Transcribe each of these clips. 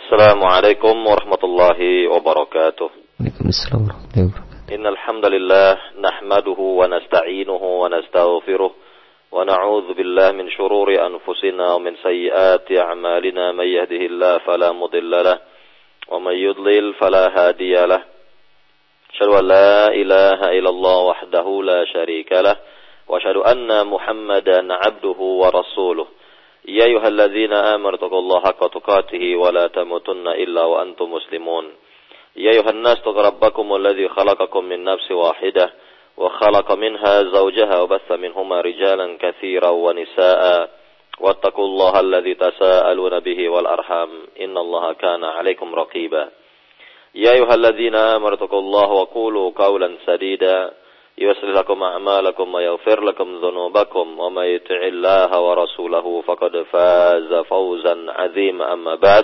Assalamualaikum warahmatullahi wabarakatuh. Waalaikumsalam warahmatullahi wabarakatuh. Innal hamdalillah nahmaduhu wa nasta'inuhu wa nastaghfiruh wa na'udzu billahi min shururi anfusina wa min sayyiati a'malina may yahdihillahu fala mudilla lahu wa may yudlil fala hadiya lahu. Asyhadu an la ilaha illallah wahdahu la syarika lahu wa asyhadu anna Muhammadan 'abduhu wa rasuluh. Ya ayyuhalladzina amanu taqullaha haqqa tuqatih wa la tamutunna illa wa antum muslimun. Ya ayyuhan nas taqu rabbakumul ladzi khalaqakum min nafsin wahidah wa khalaqa minha zawjaha wa bassa minhuma rijalan katsiran wa nisaa'a wattaqullaha alladzi tasaaluna bihi wal arham innallaha kana 'alaikum raqiba. Ya ayyuhalladzina amanu taqullaha wa qulu qawlan sadida yuslih lakum a'malakum wa yaghfir lakum dhunubakum wa may yuti'illaha wa rasulahu faqad faza fawzan 'azima amma ba'd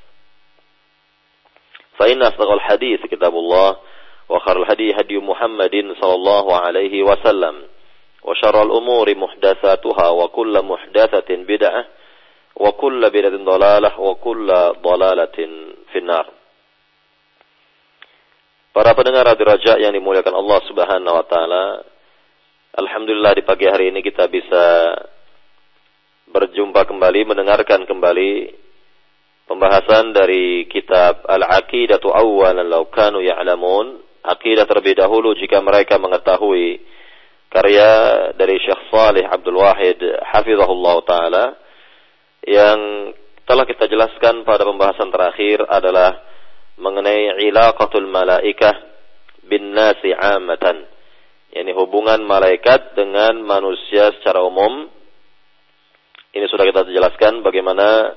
fa inna asdaqal hadits kitabullah wa khairul hadi hadi Muhammadin sallallahu alaihi wasallam wa syarrul umuri muhdatsatuha wa kullu muhdatsatin bid'ah wa kullu bid'atin dhalalah wa kullu dhalalatin finnar. Para pendengar Radio Raja yang dimuliakan Allah Subhanahu wa taala, alhamdulillah di pagi hari ini kita bisa berjumpa kembali, mendengarkan kembali pembahasan dari kitab Al-Aqidatu Awwalan Law Kanu Ya'lamun, akidah terlebih dahulu jika mereka mengetahui, karya dari Syekh Shalih Abdul Wahid hafizahullah taala, yang telah kita jelaskan pada pembahasan terakhir adalah mengenai ilaqatul malaikah bin nasi amatan, yakni hubungan malaikat dengan manusia secara umum. Ini sudah kita jelaskan bagaimana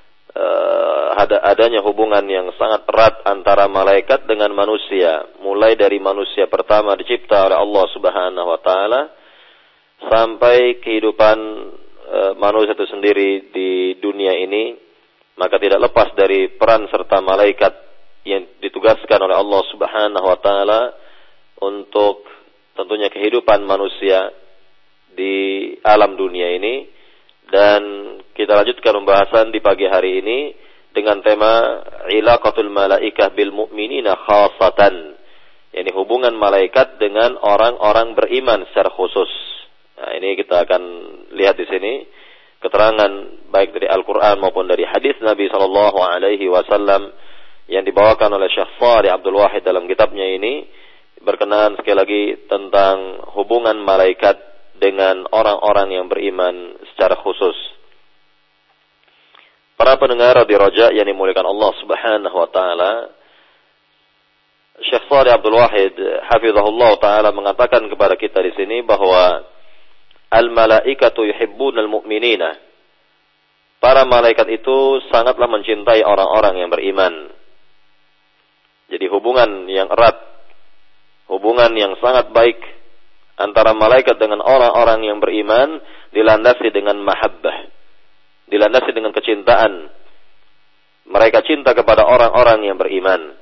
adanya hubungan yang sangat erat antara malaikat dengan manusia, mulai dari manusia pertama dicipta oleh Allah Subhanahu wa taala sampai kehidupan manusia itu sendiri di dunia ini, maka tidak lepas dari peran serta malaikat yang ditugaskan oleh Allah Subhanahu wa taala untuk tentunya kehidupan manusia di alam dunia ini. Dan kita lanjutkan pembahasan di pagi hari ini dengan tema ilaqatul malaikah bil mu'minina khassatan, yakni hubungan malaikat dengan orang-orang beriman secara khusus. Nah, ini kita akan lihat di sini keterangan baik dari Al-Qur'an maupun dari hadis Nabi sallallahu alaihi wasallam yang dibawakan oleh Syekh Shalih Abdul Wahid dalam kitabnya ini, berkenaan sekali lagi tentang hubungan malaikat dengan orang-orang yang beriman secara khusus. Para pendengar Radio Raja yang dimuliakan Allah Subhanahu wa taala, Syekh Shalih Abdul Wahid hafizahullah taala mengatakan kepada kita di sini bahwa al-malaikatu yuhibbunal mu'minina. Para malaikat itu sangatlah mencintai orang-orang yang beriman. Jadi hubungan yang erat, hubungan yang sangat baik antara malaikat dengan orang-orang yang beriman dilandasi dengan mahabbah, dilandasi dengan kecintaan. Mereka cinta kepada orang-orang yang beriman.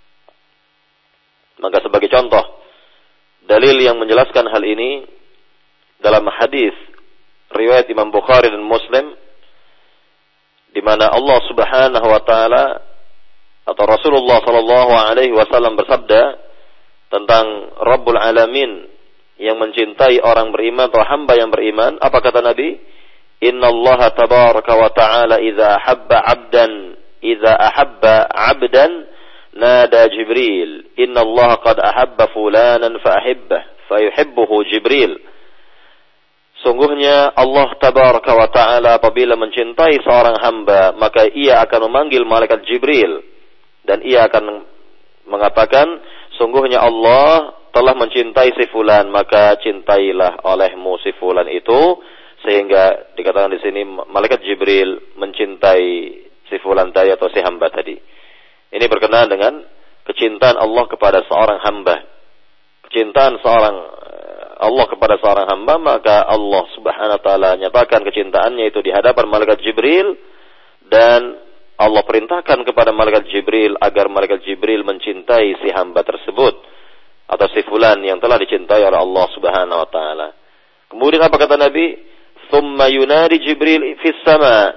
Maka sebagai contoh, dalil yang menjelaskan hal ini dalam hadis riwayat Imam Bukhari dan Muslim, di mana Allah Subhanahu wa taala atau Rasulullah sallallahu alaihi wasallam bersabda tentang Rabbul Alamin yang mencintai orang beriman atau hamba yang beriman. Apa kata Nabi? Innallaha tabaraka wa ta'ala idza ahabba 'abdan nada Jibril innallaha qad ahabba fulanan fa yuhibbuhu Jibril. Sungguhnya Allah tabaraka wa ta'ala apabila mencintai seorang hamba, maka ia akan memanggil malaikat Jibril dan ia akan mengatakan, sungguhnya Allah telah mencintai si fulan, maka cintailah olehmu si fulan itu. Sehingga dikatakan di sini malaikat Jibril mencintai si fulan tadi atau si hamba tadi. Ini berkenaan dengan kecintaan Allah kepada seorang hamba. Kecintaan Allah kepada seorang hamba, maka Allah Subhanahu wa taala nyatakan kecintaannya itu di hadapan malaikat Jibril, dan Allah perintahkan kepada malaikat Jibril agar malaikat Jibril mencintai si hamba tersebut atau si fulan yang telah dicintai oleh Allah Subhanahu wa taala. Kemudian apa kata Nabi? Tsumma yunadi Jibril fis sama.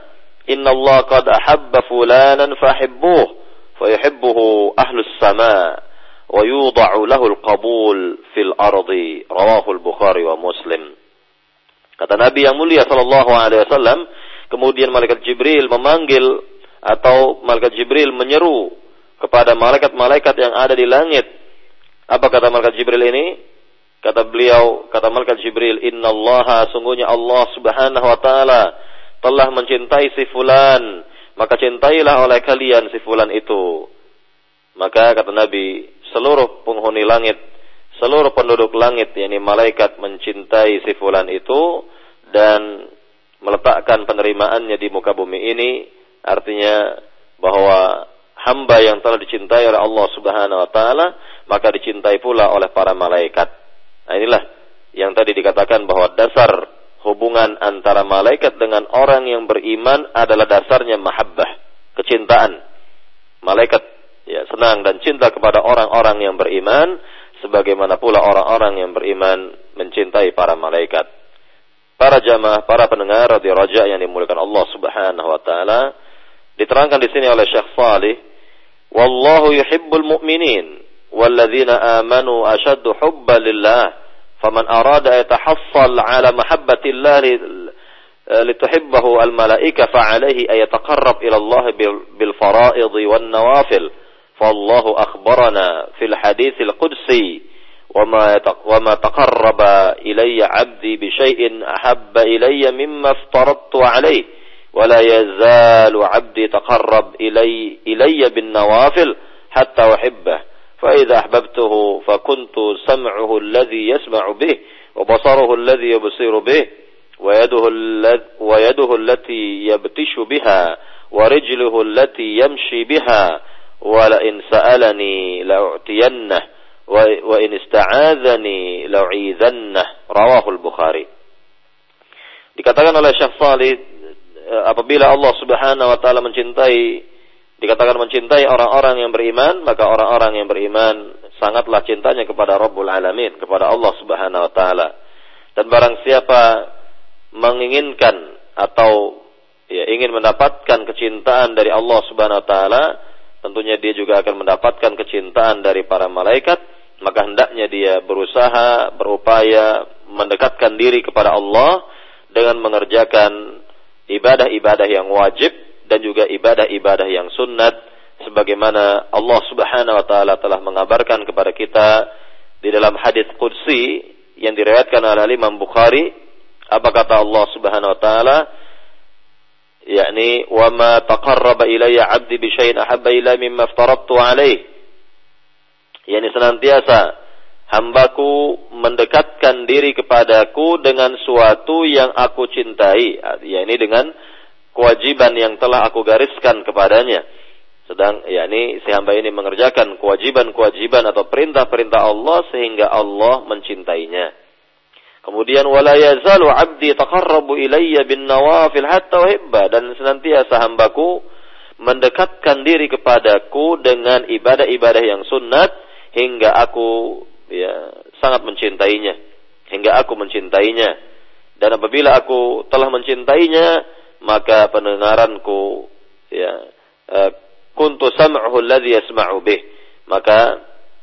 innallaha qad ahabba fulanan fahibbuh fayuhibbuhu ahlus sama wa yudha'u lahu al-qabul fil ardi. Rawahu al-Bukhari wa Muslim. Kata Nabi yang mulia sallallahu alaihi wasallam, kemudian malaikat Jibril memanggil atau malaikat Jibril menyeru kepada malaikat-malaikat yang ada di langit. Apa kata malaikat Jibril ini? Kata beliau, kata malaikat Jibril, innallaha, sungguhnya Allah subhanahu wa ta'ala telah mencintai si fulan, maka cintailah oleh kalian si fulan itu. Maka kata Nabi, seluruh penghuni langit, seluruh penduduk langit, yakni malaikat, mencintai si fulan itu dan meletakkan penerimaannya di muka bumi ini. Artinya bahwa hamba yang telah dicintai oleh Allah subhanahu wa ta'ala, maka dicintai pula oleh para malaikat. Nah, inilah yang tadi dikatakan bahwa dasar hubungan antara malaikat dengan orang yang beriman adalah dasarnya mahabbah, kecintaan. Malaikat ya senang dan cinta kepada orang-orang yang beriman, sebagaimana pula orang-orang yang beriman mencintai para malaikat. Para jamaah, para pendengar radio Raja yang dimuliakan Allah Subhanahu wa taala, diterangkan di sini oleh Syekh Salih, wallahu yuhibbul mu'minin والذين آمنوا أشد حبا لله فمن أراد أن يتحصل على محبة الله لتحبه الملائكة فعليه أن يتقرب إلى الله بالفرائض والنوافل فالله أخبرنا في الحديث القدسي وما تقرب إلي عبدي بشيء أحب إلي مما افترضت عليه ولا يزال عبدي تقرب إلي بالنوافل حتى أحبه فإذا أحببته فكنت سمعه الذي يسمع به وبصره الذي يبصر به ويده التي يبتش بها ورجله التي يمشي بها ولئن سألني لأعطينه وإن استعاذني لأعيذنه. رواه البخاري. Dikatakan oleh Syekh Salih, apabila Allah Subhanahu wa taala dikatakan mencintai orang-orang yang beriman, maka orang-orang yang beriman sangatlah cintanya kepada Rabbul Alamin, kepada Allah Subhanahu wa taala. Dan barang siapa menginginkan atau ingin mendapatkan kecintaan dari Allah Subhanahu wa taala, tentunya dia juga akan mendapatkan kecintaan dari para malaikat, maka hendaknya dia berusaha, berupaya mendekatkan diri kepada Allah dengan mengerjakan ibadah-ibadah yang wajib dan juga ibadah-ibadah yang sunnat, sebagaimana Allah Subhanahu wa taala telah mengabarkan kepada kita di dalam hadits qudsi yang diriwayatkan oleh Imam Bukhari. Apa kata Allah Subhanahu wa taala? Yakni wa ma taqarraba ilayya 'abdi bi syai'in ahabba ilayya mimma aftaradtu 'alaihi. yakni senantiasa hambaku mendekatkan diri kepadaku dengan suatu yang aku cintai, yakni dengan kewajiban yang telah aku gariskan kepadanya. Yakni si hamba ini mengerjakan kewajiban-kewajiban atau perintah-perintah Allah sehingga Allah mencintainya. Kemudian wala yazalu 'abdi taqarrabu ilayya bin nawafil hatta uhibba, dan senantiasa hambaku mendekatkan diri kepadaku dengan ibadah-ibadah yang sunnat hingga aku sangat mencintainya, hingga aku mencintainya. Dan apabila aku telah mencintainya, maka pendengaranku kuntu sam'uhu alladhi yasma'u bih, maka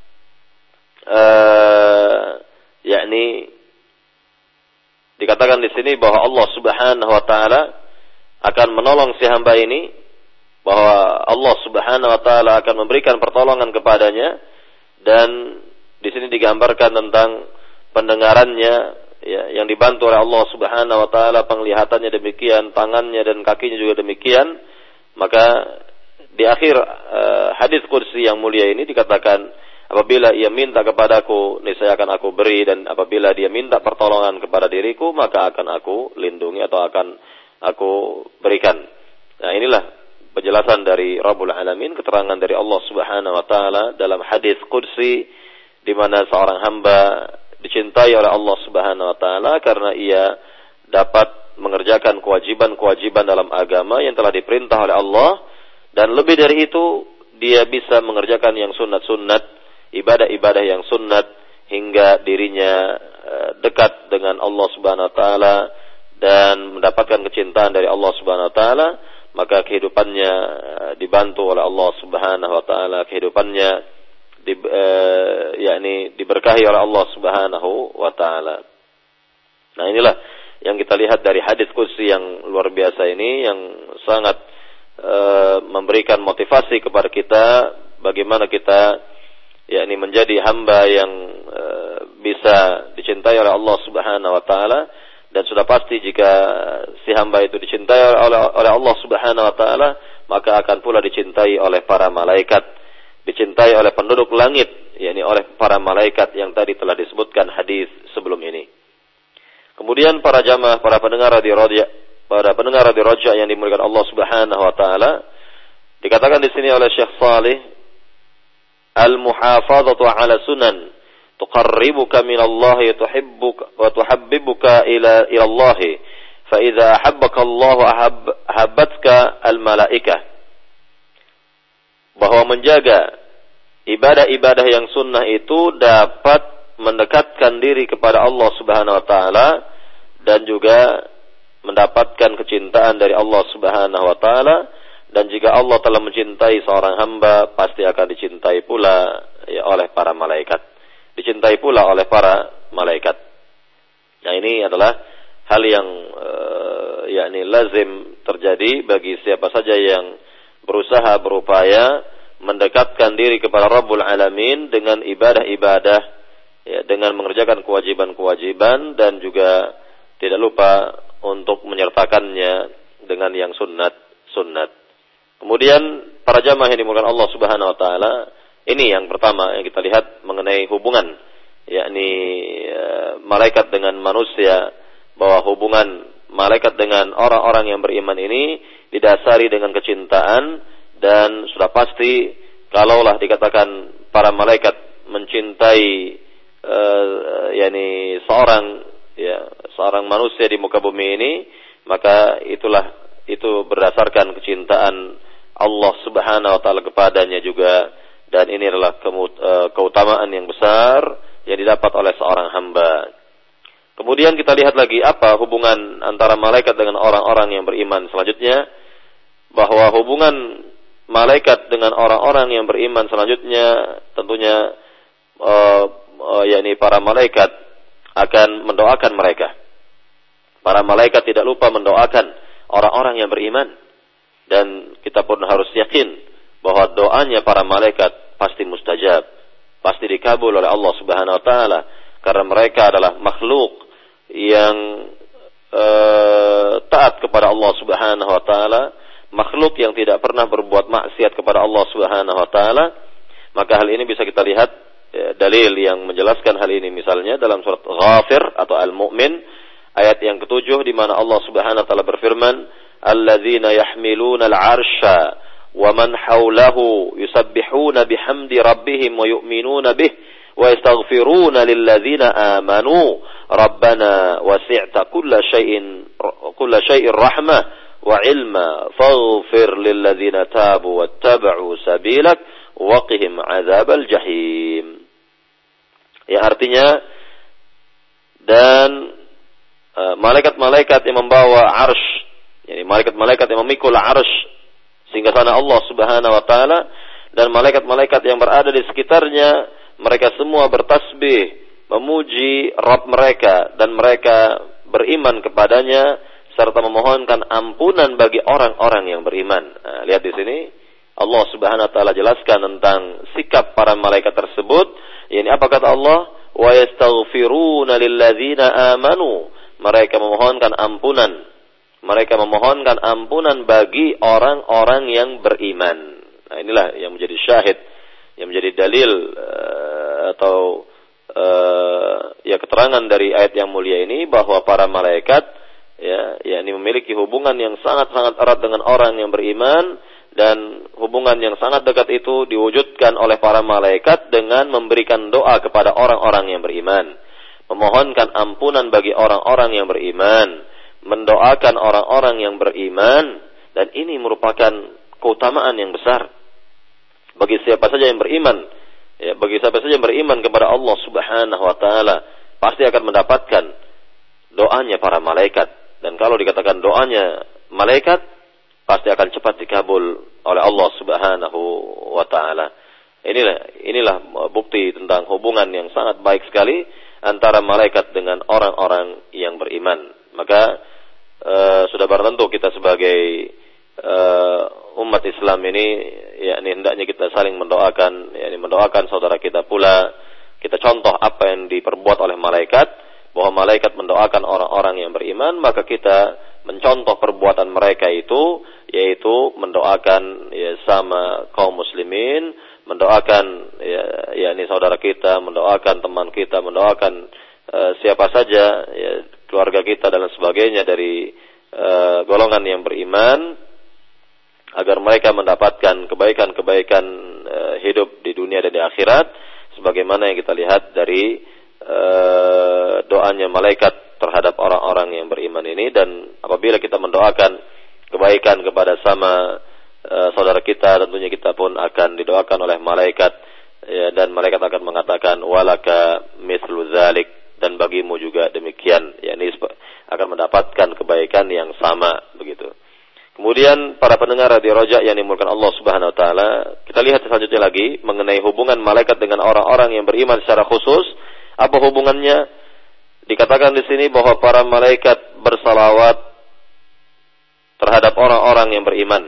yakni dikatakan di sini bahwa Allah Subhanahu wa taala akan menolong si hamba ini, bahwa Allah Subhanahu wa taala akan memberikan pertolongan kepadanya. Dan di sini digambarkan tentang pendengarannya yang dibantu oleh Allah Subhanahu wa taala, penglihatannya demikian, tangannya dan kakinya juga demikian. Maka di akhir hadis qudsi yang mulia ini dikatakan, apabila ia minta kepadaku, niscaya akan aku beri, dan apabila dia minta pertolongan kepada diriku, maka akan aku lindungi atau akan aku berikan. Nah, inilah penjelasan dari Rabbul Alamin, keterangan dari Allah Subhanahu wa taala dalam hadis qudsi, di mana seorang hamba dicintai oleh Allah Subhanahu wa taala karena ia dapat mengerjakan kewajiban-kewajiban dalam agama yang telah diperintah oleh Allah, dan lebih dari itu dia bisa mengerjakan yang sunat-sunat, ibadah-ibadah yang sunat, hingga dirinya dekat dengan Allah Subhanahu wa taala dan mendapatkan kecintaan dari Allah Subhanahu wa taala. maka kehidupannya dibantu oleh Allah Subhanahu wa taala, kehidupannya diberkahi oleh Allah Subhanahu wa taala. Nah, inilah yang kita lihat dari hadis qudsi yang luar biasa ini, yang sangat memberikan motivasi kepada kita bagaimana kita menjadi hamba yang bisa dicintai oleh Allah Subhanahu wa taala. Dan sudah pasti jika si hamba itu dicintai oleh Allah Subhanahu wa taala, maka akan pula dicintai oleh para malaikat, dicintai oleh penduduk langit, oleh para malaikat yang tadi telah disebutkan hadis sebelum ini. Kemudian para jamaah, para pendengar radio Raja yang dimuliakan Allah Subhanahu wa taala, dikatakan di sini oleh Syekh Salih, al-muhafadzatu 'ala sunan tuqarribuka min Allah wa tuhabbibuka ila Allah, fa idza ahabbaka Allah ahabbatka al-malaikah. Bahwa menjaga ibadah-ibadah yang sunnah itu dapat mendekatkan diri kepada Allah Subhanahu wa taala dan juga mendapatkan kecintaan dari Allah Subhanahu wa taala. Dan jika Allah telah mencintai seorang hamba, pasti akan dicintai pula oleh para malaikat. Dicintai pula oleh para malaikat. Nah, ini adalah hal yang lazim terjadi bagi siapa saja yang berusaha, berupaya mendekatkan diri kepada Rabbul Alamin dengan ibadah-ibadah, dengan mengerjakan kewajiban-kewajiban, dan juga tidak lupa untuk menyertakannya dengan yang sunnat. Kemudian para jamaah yang dimuliakan Allah Subhanahu wa taala, ini yang pertama yang kita lihat mengenai hubungan malaikat dengan manusia, bahwa hubungan malaikat dengan orang-orang yang beriman ini didasari dengan kecintaan. Dan sudah pasti kalaulah dikatakan para malaikat mencintai seorang manusia di muka bumi ini, maka itu berdasarkan kecintaan Allah Subhanahu wa taala kepadanya juga. Dan ini adalah keutamaan yang besar yang didapat oleh seorang hamba. Kemudian kita lihat lagi apa hubungan antara malaikat dengan orang-orang yang beriman selanjutnya. Bahwa hubungan malaikat dengan orang-orang yang beriman selanjutnya tentunya para malaikat akan mendoakan mereka. Para malaikat tidak lupa mendoakan orang-orang yang beriman. Dan kita pun harus yakin bahwa doanya para malaikat pasti mustajab, pasti dikabul oleh Allah Subhanahu wa taala, karena mereka adalah makhluk yang taat kepada Allah Subhanahu wa taala, makhluk yang tidak pernah berbuat maksiat kepada Allah Subhanahu wa taala. Maka hal ini bisa kita lihat dalil yang menjelaskan hal ini, misalnya dalam surat Ghafir atau Al-Mu'min ayat yang ke-7, di mana Allah Subhanahu wa taala berfirman, alladzina yahmiluna al-'arsya wa man hawlahu yusabbihuna bihamdi rabbihim wa yu'minuna bih wa yastaghfiruna lilladzina amanu rabbana wasi'ta kulla syai'in rahmah wa ilma faghfir lilladzina tabu wattaba'u sabilak waqihim 'adzabal jahim. Ya, artinya, dan malaikat-malaikat yang membawa arsy, yani malaikat-malaikat yang memikul arsy sehingga sana Allah Subhanahu wa taala, dan malaikat-malaikat yang berada di sekitarnya, mereka semua bertasbih memuji Rabb mereka, dan mereka beriman kepadanya serta memohonkan ampunan bagi orang-orang yang beriman. Nah, lihat di sini Allah Subhanahu wa taala jelaskan tentang sikap para malaikat tersebut. Ini apa kata Allah? Wa yastaghfiruna lilladzina amanu. Mereka memohonkan ampunan. Mereka memohonkan ampunan bagi orang-orang yang beriman. Nah, inilah yang menjadi syahid, yang menjadi dalil atau keterangan dari ayat yang mulia ini, bahwa para malaikat ini memiliki hubungan yang sangat-sangat erat dengan orang yang beriman, dan hubungan yang sangat dekat itu diwujudkan oleh para malaikat dengan memberikan doa kepada orang-orang yang beriman, memohonkan ampunan bagi orang-orang yang beriman, mendoakan orang-orang yang beriman. Dan ini merupakan keutamaan yang besar bagi siapa saja yang beriman. Bagi siapa saja yang beriman kepada Allah Subhanahu wa taala, pasti akan mendapatkan doanya para malaikat. Dan kalau dikatakan doanya malaikat, pasti akan cepat dikabul oleh Allah Subhanahu wa taala. Inilah bukti tentang hubungan yang sangat baik sekali antara malaikat dengan orang-orang yang beriman. Maka sudah barang tentu kita sebagai umat Islam ini, yakni hendaknya kita saling mendoakan, yakni mendoakan saudara kita pula. Kita contoh apa yang diperbuat oleh malaikat, bahwa malaikat mendoakan orang-orang yang beriman, maka kita mencontoh perbuatan mereka itu, yaitu mendoakan sama kaum muslimin, mendoakan yakni saudara kita, mendoakan teman kita, mendoakan siapa saja, keluarga kita dan sebagainya dari golongan yang beriman, agar mereka mendapatkan kebaikan-kebaikan hidup di dunia dan di akhirat, sebagaimana yang kita lihat dari doanya malaikat terhadap orang-orang yang beriman ini. Dan apabila kita mendoakan kebaikan kepada sama saudara kita, tentunya kita pun akan didoakan oleh malaikat, dan malaikat akan mengatakan walaka mithlu dzalik, dan bagimu juga demikian, yakni akan mendapatkan kebaikan yang sama begitu. Kemudian para pendengar Radio Roja yang dimulakan Allah Subhanahu wa taala, kita lihat selanjutnya lagi mengenai hubungan malaikat dengan orang-orang yang beriman secara khusus. Apa hubungannya? Dikatakan di sini bahwa para malaikat bersalawat terhadap orang-orang yang beriman.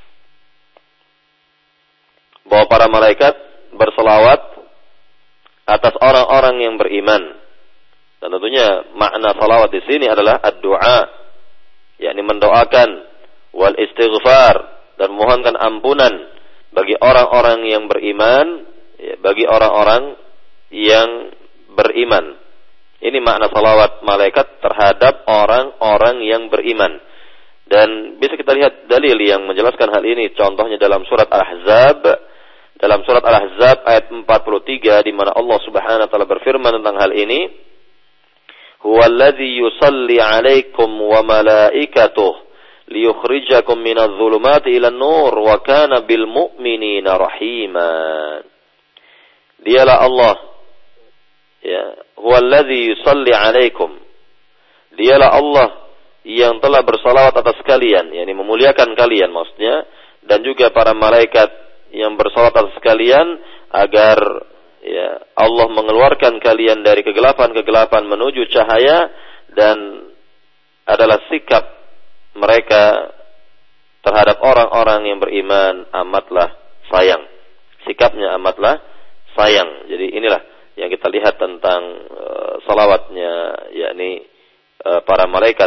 Bahwa para malaikat bersalawat atas orang-orang yang beriman. Dan tentunya makna salawat di sini adalah ad-du'a, yakni mendoakan, wal istighfar, dan mohonkan ampunan bagi orang-orang yang beriman, bagi orang-orang yang beriman. Ini makna salawat malaikat terhadap orang-orang yang beriman. Dan bisa kita lihat dalil yang menjelaskan hal ini, contohnya dalam surat Al-Ahzab. Dalam surat Al-Ahzab ayat 43, di mana Allah Subhanahu wa taala berfirman tentang hal ini, huwallazi yusalli 'alaikum wa malaikatuhu liyukhrijakum minadh-dhulumati ilan nur wa kana bil mu'minina rahima. Dialah Allah, huwallazi yusalli 'alaikum. Dialah Allah yang telah bersalawat atas kalian, yakni memuliakan kalian maksudnya, dan juga para malaikat yang bersalawat atas kalian agar Allah mengeluarkan kalian dari kegelapan-kegelapan menuju cahaya, dan adalah sikap mereka terhadap orang-orang yang beriman amatlah sayang. Sikapnya amatlah sayang. Jadi inilah yang kita lihat tentang salawatnya, yakni para malaikat,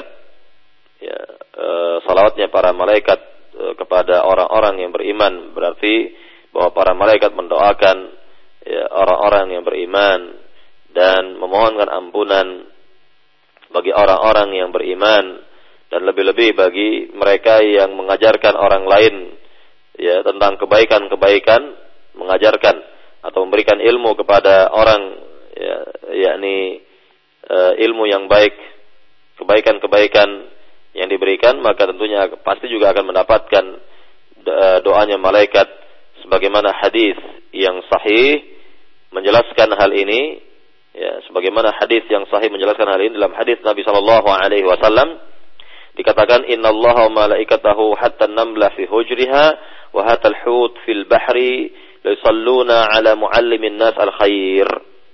salawatnya para malaikat kepada orang-orang yang beriman, berarti bahwa para malaikat mendoakan orang-orang yang beriman dan memohonkan ampunan bagi orang-orang yang beriman, dan lebih-lebih bagi mereka yang mengajarkan orang lain tentang kebaikan-kebaikan, mengajarkan atau memberikan ilmu kepada orang, yakni ilmu yang baik, kebaikan-kebaikan yang diberikan, maka tentunya pasti juga akan mendapatkan doanya malaikat, sebagaimana hadis yang sahih menjelaskan hal ini. Sebagaimana hadis yang sahih menjelaskan hal ini, dalam hadis Nabi sallallahu alaihi wasallam dikatakan, innallaha wa malaikatahu hatta an-namla fi hujriha wa hatta al-hut fil bahri yusalluna ala muallimin nas al-khair.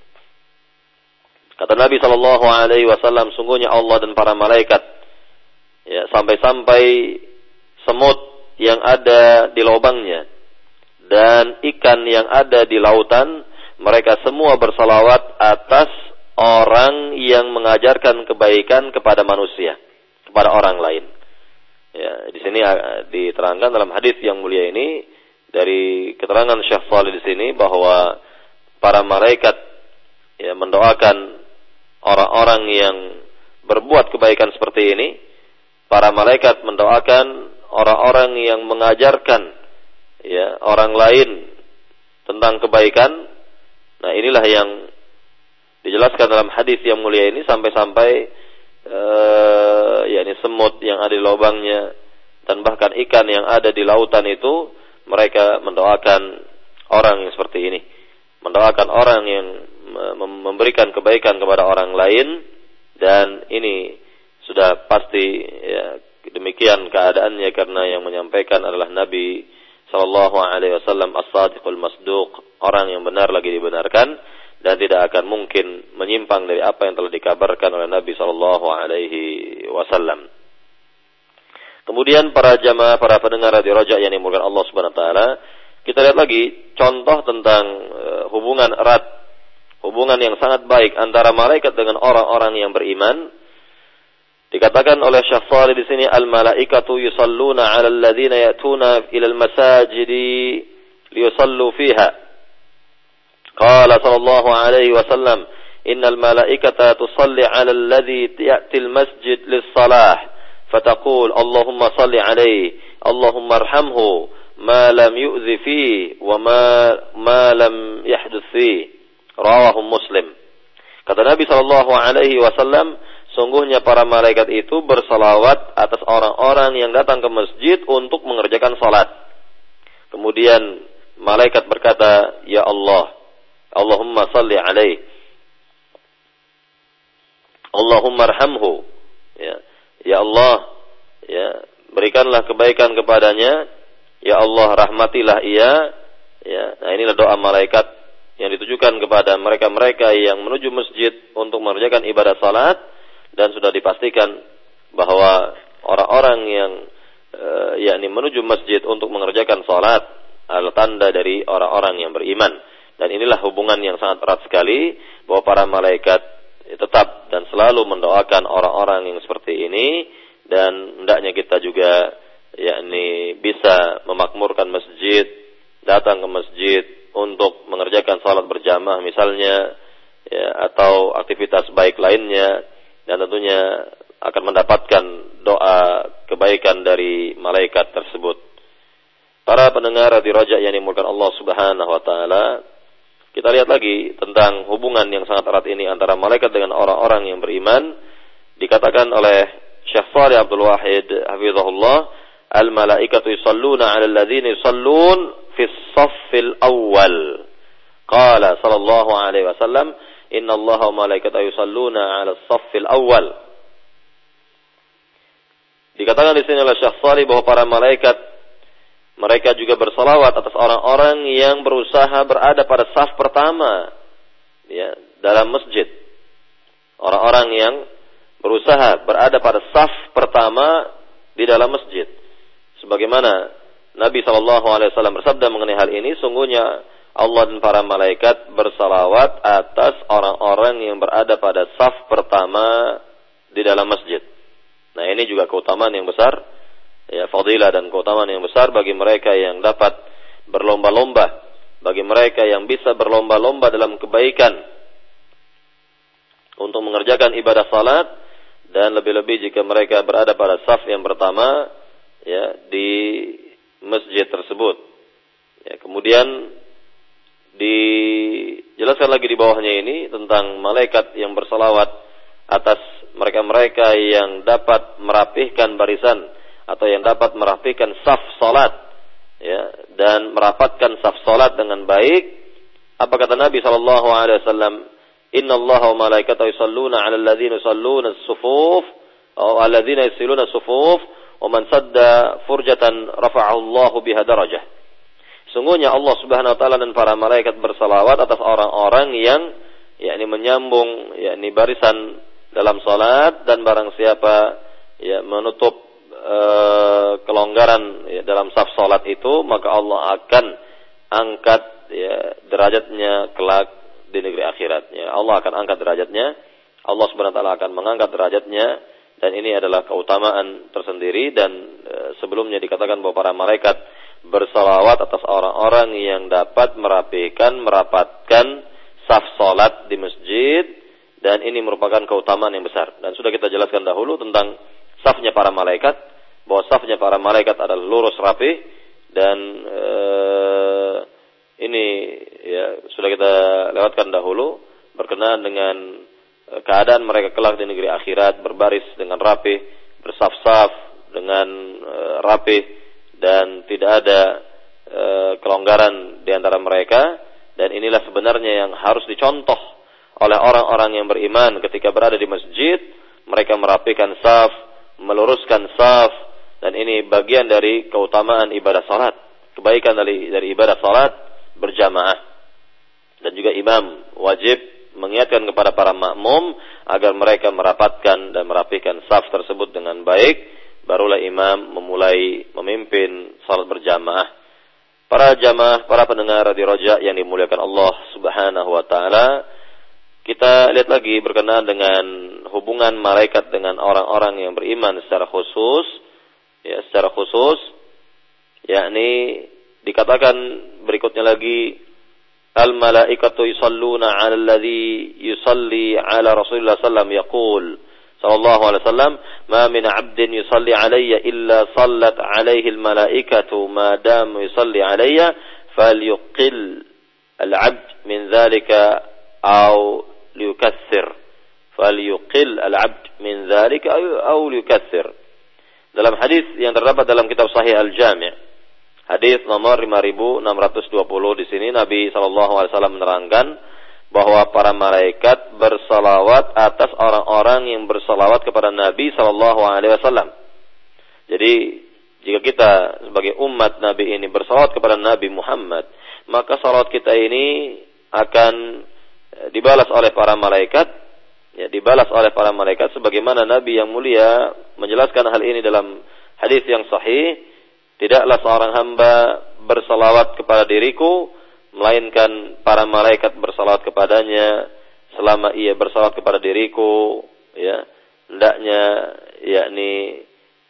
Kata Nabi sallallahu alaihi wasallam, sungguhnya Allah dan para malaikat, sampai-sampai semut yang ada di lubangnya dan ikan yang ada di lautan, mereka semua bersalawat atas orang yang mengajarkan kebaikan kepada manusia, kepada orang lain. Di sini diterangkan dalam hadis yang mulia ini, dari keterangan Syekh Shalih di sini, bahwa para malaikat mendoakan orang-orang yang berbuat kebaikan seperti ini. Para malaikat mendoakan orang-orang yang mengajarkan orang lain tentang kebaikan. Nah, inilah yang dijelaskan dalam hadis yang mulia ini, sampai-sampai yakni semut yang ada di lubangnya dan bahkan ikan yang ada di lautan itu, mereka mendoakan orang yang seperti ini, mendoakan orang yang memberikan kebaikan kepada orang lain. Dan ini sudah pasti demikian keadaannya karena yang menyampaikan adalah Nabi sallallahu alaihi wasallam as-sadiqul masduq, orang yang benar lagi dibenarkan dan tidak akan mungkin menyimpang dari apa yang telah dikabarkan oleh Nabi sallallahu alaihi wasallam. Kemudian para jamaah, para pendengar Radio Raja yang dimulakan Allah Subhanahu wa taala, kita lihat lagi contoh tentang hubungan erat, hubungan yang sangat baik antara malaikat dengan orang-orang yang beriman. Dikatakan oleh Syekh Shalih di sini, al-malaikatu yusalluna 'alal ladzina ya'tuna ila al-masajidi liyusallu fiha. Qala sallallahu alaihi wasallam, innal malaikata tusalli 'alal ladzi ya'ti al-masjid lis-salah, fataqul Allahumma salli 'alaihi, Allahumma arhamhu ma lam yu'zi fihi wa ma lam yahduts fihi. Rawahu Muslim. Kata Nabi sallallahu alaihi wasallam, sungguhnya para malaikat itu bersalawat atas orang-orang yang datang ke masjid untuk mengerjakan salat. Kemudian malaikat berkata, ya Allah, Allahumma salli alaihi, Allahumma arhamhu, ya Allah, ya, berikanlah kebaikan kepadanya, ya Allah, rahmatilah ia. Ya, nah inilah doa malaikat yang ditujukan kepada mereka-mereka yang menuju masjid untuk mengerjakan ibadah salat. Dan sudah dipastikan bahwa orang-orang yang yakni menuju masjid untuk mengerjakan salat adalah tanda dari orang-orang yang beriman. Dan inilah hubungan yang sangat erat sekali, bahwa para malaikat tetap dan selalu mendoakan orang-orang yang seperti ini. Dan hendaknya kita juga yakni bisa memakmurkan masjid, datang ke masjid untuk mengerjakan salat berjamaah misalnya, ya, atau aktivitas baik lainnya. Dan tentunya akan mendapatkan doa kebaikan dari malaikat tersebut. Para pendengar Radio Raja yang dimulakan Allah Subhanahu wa taala, kita lihat lagi tentang hubungan yang sangat erat ini antara malaikat dengan orang-orang yang beriman. Dikatakan oleh Syekh Shalih Abdul Wahid hafizahullah, al-malaikatu yusalluna 'alal ladzina yusallun fis saffil awwal. Qala sallallahu alaihi wasallam, inna Allaha wa malaikatahu yusalluna 'alas saffil awwal. Dikatakan di sini oleh Syekh Shalih bahwa para malaikat mereka juga bersalawat atas orang-orang yang berusaha berada pada saf pertama, ya, dalam masjid. Orang-orang yang berusaha berada pada saf pertama di dalam masjid. Sebagaimana Nabi SAW bersabda mengenai hal ini, sungguhnya Allah dan para malaikat bersalawat atas orang-orang yang berada pada saf pertama di dalam masjid. Nah, ini juga keutamaan yang besar, ya, fadilah dan keutamaan yang besar bagi mereka yang dapat berlomba-lomba, bagi mereka yang bisa berlomba-lomba dalam kebaikan untuk mengerjakan ibadah salat, dan lebih-lebih jika mereka berada pada saf yang pertama, ya, di masjid tersebut. Ya, kemudian dijelaskan lagi di bawahnya ini tentang malaikat yang bersalawat atas mereka-mereka yang dapat merapihkan barisan atau yang dapat merapihkan saf salat, ya, dan merapatkan saf salat dengan baik. Apa kata Nabi sallallahu alaihi wasallam? Inna Allaha wa malaikatahu yusalluna 'alal ladzina yusalluna as-sufuf aw alladzina yusaluna as-sufuf wa man sadda furjatan rafa'ahu Allahu biha darajah. Sungguhnya Allah Subhanahu wa taala dan para malaikat bersalawat atas orang-orang yang yakni menyambung yakni barisan dalam salat, dan barang siapa ya menutup kelonggaran ya, dalam saf salat itu, maka Allah akan angkat ya derajatnya kelak di negeri akhirat. Ya, Allah akan angkat derajatnya. Allah Subhanahu wa taala akan mengangkat derajatnya, dan ini adalah keutamaan tersendiri. Dan sebelumnya dikatakan bahwa para malaikat bersalawat atas orang-orang yang dapat merapikan, merapatkan saf salat di masjid, dan ini merupakan keutamaan yang besar. Dan sudah kita jelaskan dahulu tentang safnya para malaikat, bahwa safnya para malaikat adalah lurus rapi, dan ini ya sudah kita lewatkan dahulu berkenaan dengan keadaan mereka kelak di negeri akhirat, berbaris dengan rapi, bersaf-saf dengan rapi, dan tidak ada kelonggaran di antara mereka. Dan inilah sebenarnya yang harus dicontoh oleh orang-orang yang beriman ketika berada di masjid. Mereka merapikan saf, meluruskan saf, dan ini bagian dari keutamaan ibadah salat, kebaikan dari ibadah salat berjamaah. Dan juga imam wajib mengingatkan kepada para makmum agar mereka merapatkan dan merapikan saf tersebut dengan baik, barulah imam memulai memimpin salat berjamaah. Para jamaah, para pendengar di Roja yang dimuliakan Allah Subhanahu wa taala, kita lihat lagi berkenaan dengan hubungan malaikat dengan orang-orang yang beriman secara khusus, yakni dikatakan berikutnya lagi, al malaikatu yusalluna 'ala alladhi yusalli 'ala Rasulillah sallallahu alaihi wasallam, ma min 'abdin yusalli 'alayya illa sallat 'alaihi al malaikatu ma dam yusalli 'alayya falyuqil al 'abd min dhalika aw liyukaththir, falyuqil al-'abd min dzalika aw liyukaththir. Dalam hadis yang terdapat dalam kitab Sahih Al-Jami', hadis nomor 5620, di sini Nabi sallallahu alaihi wasallam menerangkan bahwa para malaikat bersalawat atas orang-orang yang bersalawat kepada Nabi sallallahu alaihi wasallam. Jadi jika kita sebagai umat Nabi ini bersalawat kepada Nabi Muhammad, maka salawat kita ini akan dibalas oleh para malaikat, dibalas oleh para malaikat sebagaimana Nabi yang mulia menjelaskan hal ini dalam hadis yang sahih, tidaklah seorang hamba bersalawat kepada diriku melainkan para malaikat bersalawat kepadanya selama ia bersalawat kepada diriku, hendaknya yakni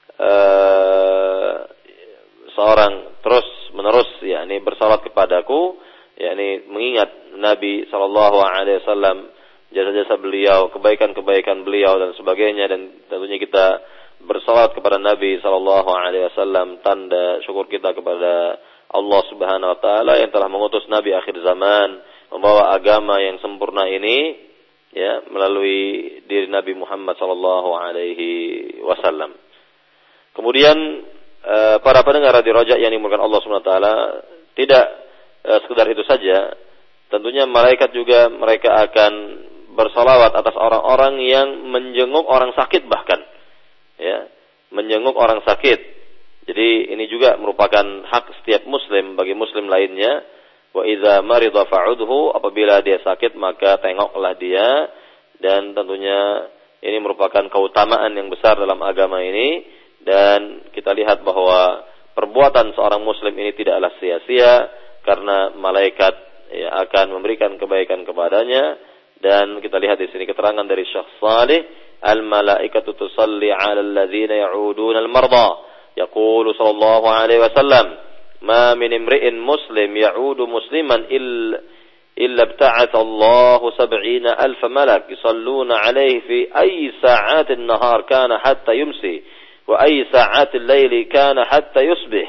seorang terus menerus yakni bersalawat kepadaku, yakni mengingat Nabi sallallahu alaihi wasallam, jasa-jasa beliau, kebaikan-kebaikan beliau dan sebagainya, dan tentunya kita bersalawat kepada Nabi sallallahu alaihi wasallam tanda syukur kita kepada Allah Subhanahu wa taala yang telah mengutus Nabi akhir zaman membawa agama yang sempurna ini melalui diri Nabi Muhammad sallallahu alaihi wasallam. Kemudian para pendengar Radio Roja yang dimuliakan Allah Subhanahu wa taala, tidak sekedar itu saja, tentunya malaikat juga mereka akan bersalawat atas orang-orang yang menjenguk orang sakit, bahkan menjenguk orang sakit. Jadi ini juga merupakan hak setiap muslim bagi muslim lainnya. Wa idza marida fa'udhu, apabila dia sakit maka tengoklah dia, dan tentunya ini merupakan keutamaan yang besar dalam agama ini. Dan kita lihat bahwa perbuatan seorang muslim ini tidaklah sia-sia, karena malaikat akan memberikan kebaikan kepadanya. Dan kita lihat di sini keterangan dari Syekh Salih, al-malaikatu tusalli 'alal ladzina ya'uduna al-marda, yaqulu sallallahu alaihi wasallam, ma min imri'in muslim ya'udu musliman illa ibta'atha Allahu 70,000 malak yusalluna 'alaihi fi ayyi sa'atin nahar kana hatta yumsi wa ayyi sa'atil laili kana hatta yusbih.